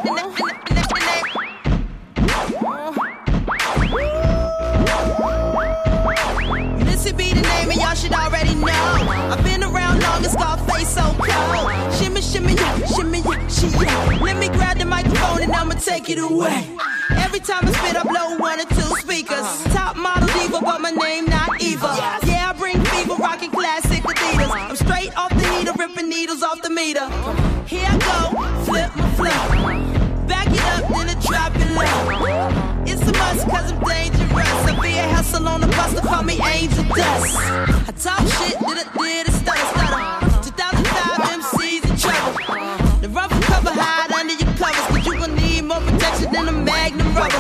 Missy be the name, and y'all should already know. I've been around long, it's got face so cold. Shimmy, shimmy, yeah, shimmy, yeah, she yeah. Let me grab the microphone and I'ma take it away. Every time I spit, I blow one or two speakers. Top model diva, but my name not Eva. Yeah, I bring fever, rocking classic Adidas. I'm straight off the heater, ripping needles off the meter. Here I go, flip my flow. Back it up, then I drop it low. It's a must, cause I'm dangerous. I be a hustle on the bus, to call me Angel Dust. I talk shit, did it, did it, stutter, stutter. two thousand five M Cs in trouble. The rubber cover hide under your covers, but you gon' need more protection than a Magnum rubber.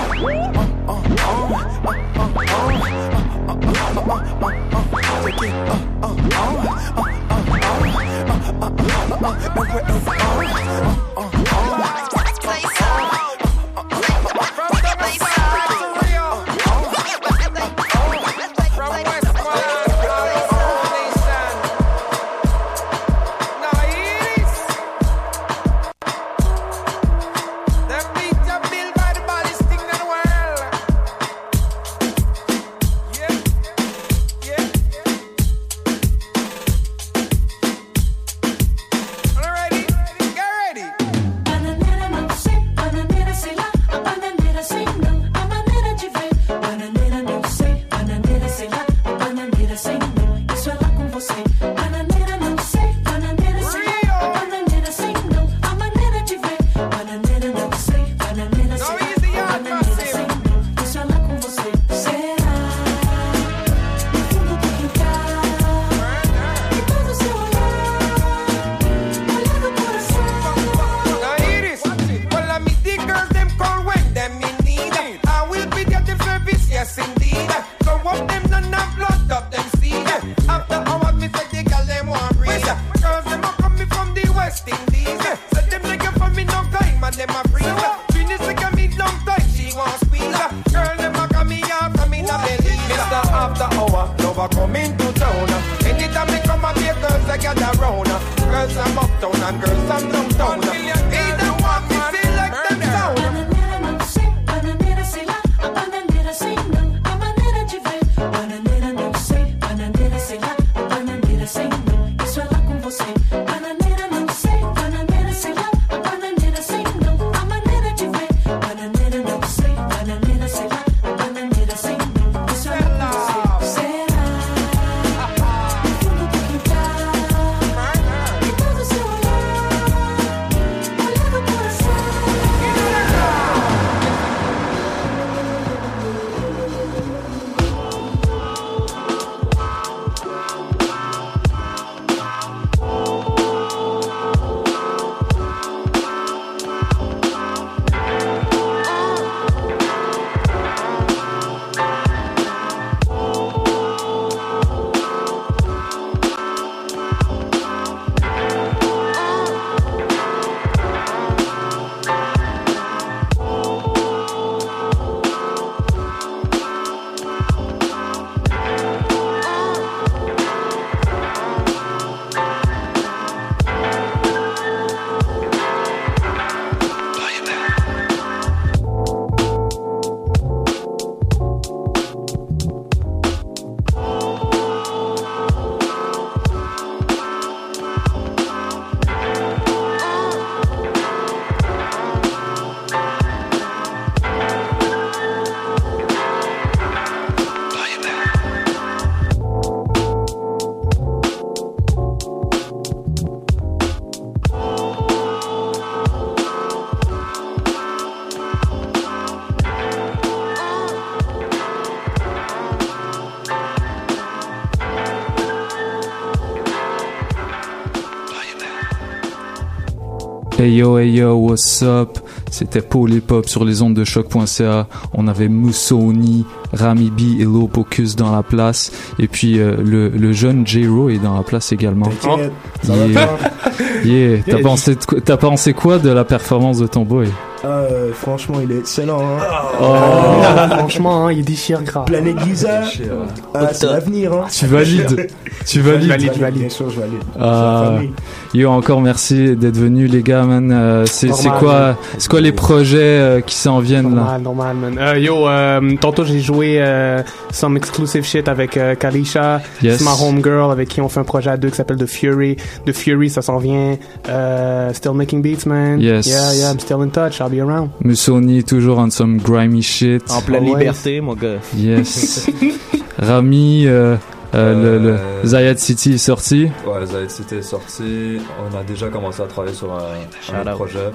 Hey yo, hey yo, what's up? C'était Paul Hip Hop sur les ondes de choc point c a. On avait Musoni, Rami B et Lopocus dans la place. Et puis euh, le, le jeune J-Ro est dans la place également. T'inquiète, ça yeah. va bien. Yeah. T'as, pensé, t'as pensé quoi de la performance de ton boy? Euh, franchement, il est excellent. Hein. Oh. Oh. Franchement, hein, il déchire grave. Planète Giza, euh, c'est l'avenir. Hein. Tu valides. Tu valides. Je valide, je valide. Bien sûr, je valide. Ah, yo, encore merci d'être venu, les gars, man. Euh, c'est, c'est quoi, c'est quoi les projets euh, qui s'en viennent normal, là? Normal, man. Euh, yo, euh, tantôt j'ai joué euh, some exclusive shit avec euh, Kalisha. Yes. C'est ma homegirl avec qui on fait un projet à deux qui s'appelle The Fury. The Fury, ça s'en vient. Euh, still making beats, man. Yes. Yeah, yeah, I'm still in touch. I'll be around. Musoni, toujours on some grimy shit. En pleine Always. liberté, mon gars. Yes. Rami, euh, euh, le, le Zayed City est sorti. Ouais, Zayed City est sorti. On a déjà commencé à travailler sur un, un autre projet.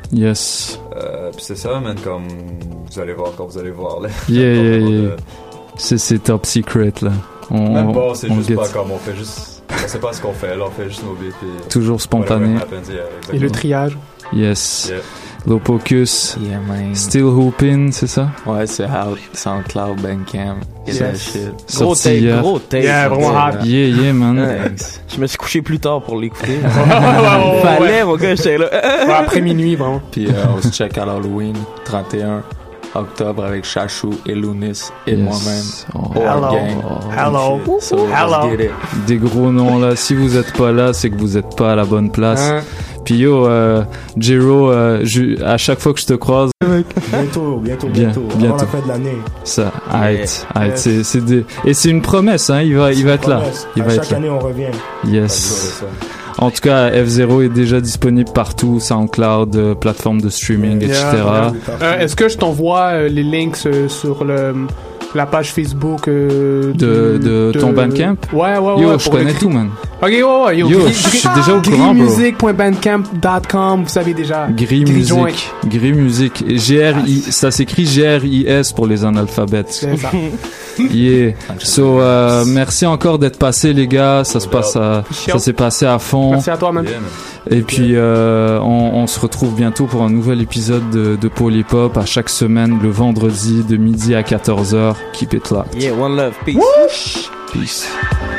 Yes. Euh, puis c'est ça, man, comme vous allez voir quand vous allez voir. Là. Yeah, yeah, yeah. C'est, c'est top secret, là. On, Même pas, c'est on juste get. pas comme on fait juste... On sait pas ce qu'on fait, là, on fait juste nos beats. Puis Toujours spontané. happens, yeah, Et le triage. Yes. Yeah. Lopocus. Yeah, man. Still Hoopin', c'est ça? Ouais, c'est out. SoundCloud, Bandcamp. Get that shit. Gros Sorti tape, hier. gros tape. Yeah, vraiment hot. Yeah, yeah, man. Thanks. Je me suis couché plus tard pour l'écouter. ouais, Fallait, mon gars, j'étais là. Ouais, après minuit, vraiment. Puis euh, on se check à l'Halloween, trente et un octobre avec Chachou et Lounis et Yes. moi-même. Oh. Our Hello. gang. Hello. So, Hello. let's get it. Des gros noms là. Si vous êtes pas là, c'est que vous êtes pas à la bonne place. Hein? Puis yo, euh, Jero, euh, je- à chaque fois que je te croise, Bientôt, bientôt, Bien, bientôt. Avant bientôt. la fin de l'année. ça, arrête, arrête. Yes. C'est, c'est des... Et c'est une promesse, hein. Il va, il va être là. Promesse. Il à va chaque être là. année, on revient. Yes. En tout cas, F zéro est déjà disponible partout, SoundCloud, euh, plateforme de streaming, et cetera. Euh, est-ce que je t'envoie euh, les links euh, sur le, la page Facebook euh, De, du- de ton Bandcamp? Ouais, ouais, ouais. Yo, je pour connais le- tout, man. Ok, ouais, ouais. Yo, Yo, gris- je suis gris- déjà au courant, bro. grillmusic point bandcamp point com, vous savez déjà. Gris Joint. Music. Gris Music. G R I, ça s'écrit G R I S pour les analphabètes. C'est ça. Yeah. So, euh, merci encore d'être passé, les gars. Ça se passe à, ça s'est passé à fond. Merci à toi, man. Et puis, euh, on, on se retrouve bientôt pour un nouvel épisode de, de Paul Hip Hop à chaque semaine, le vendredi de midi à quatorze heures. Keep it locked. Yeah, one love. Peace. Peace.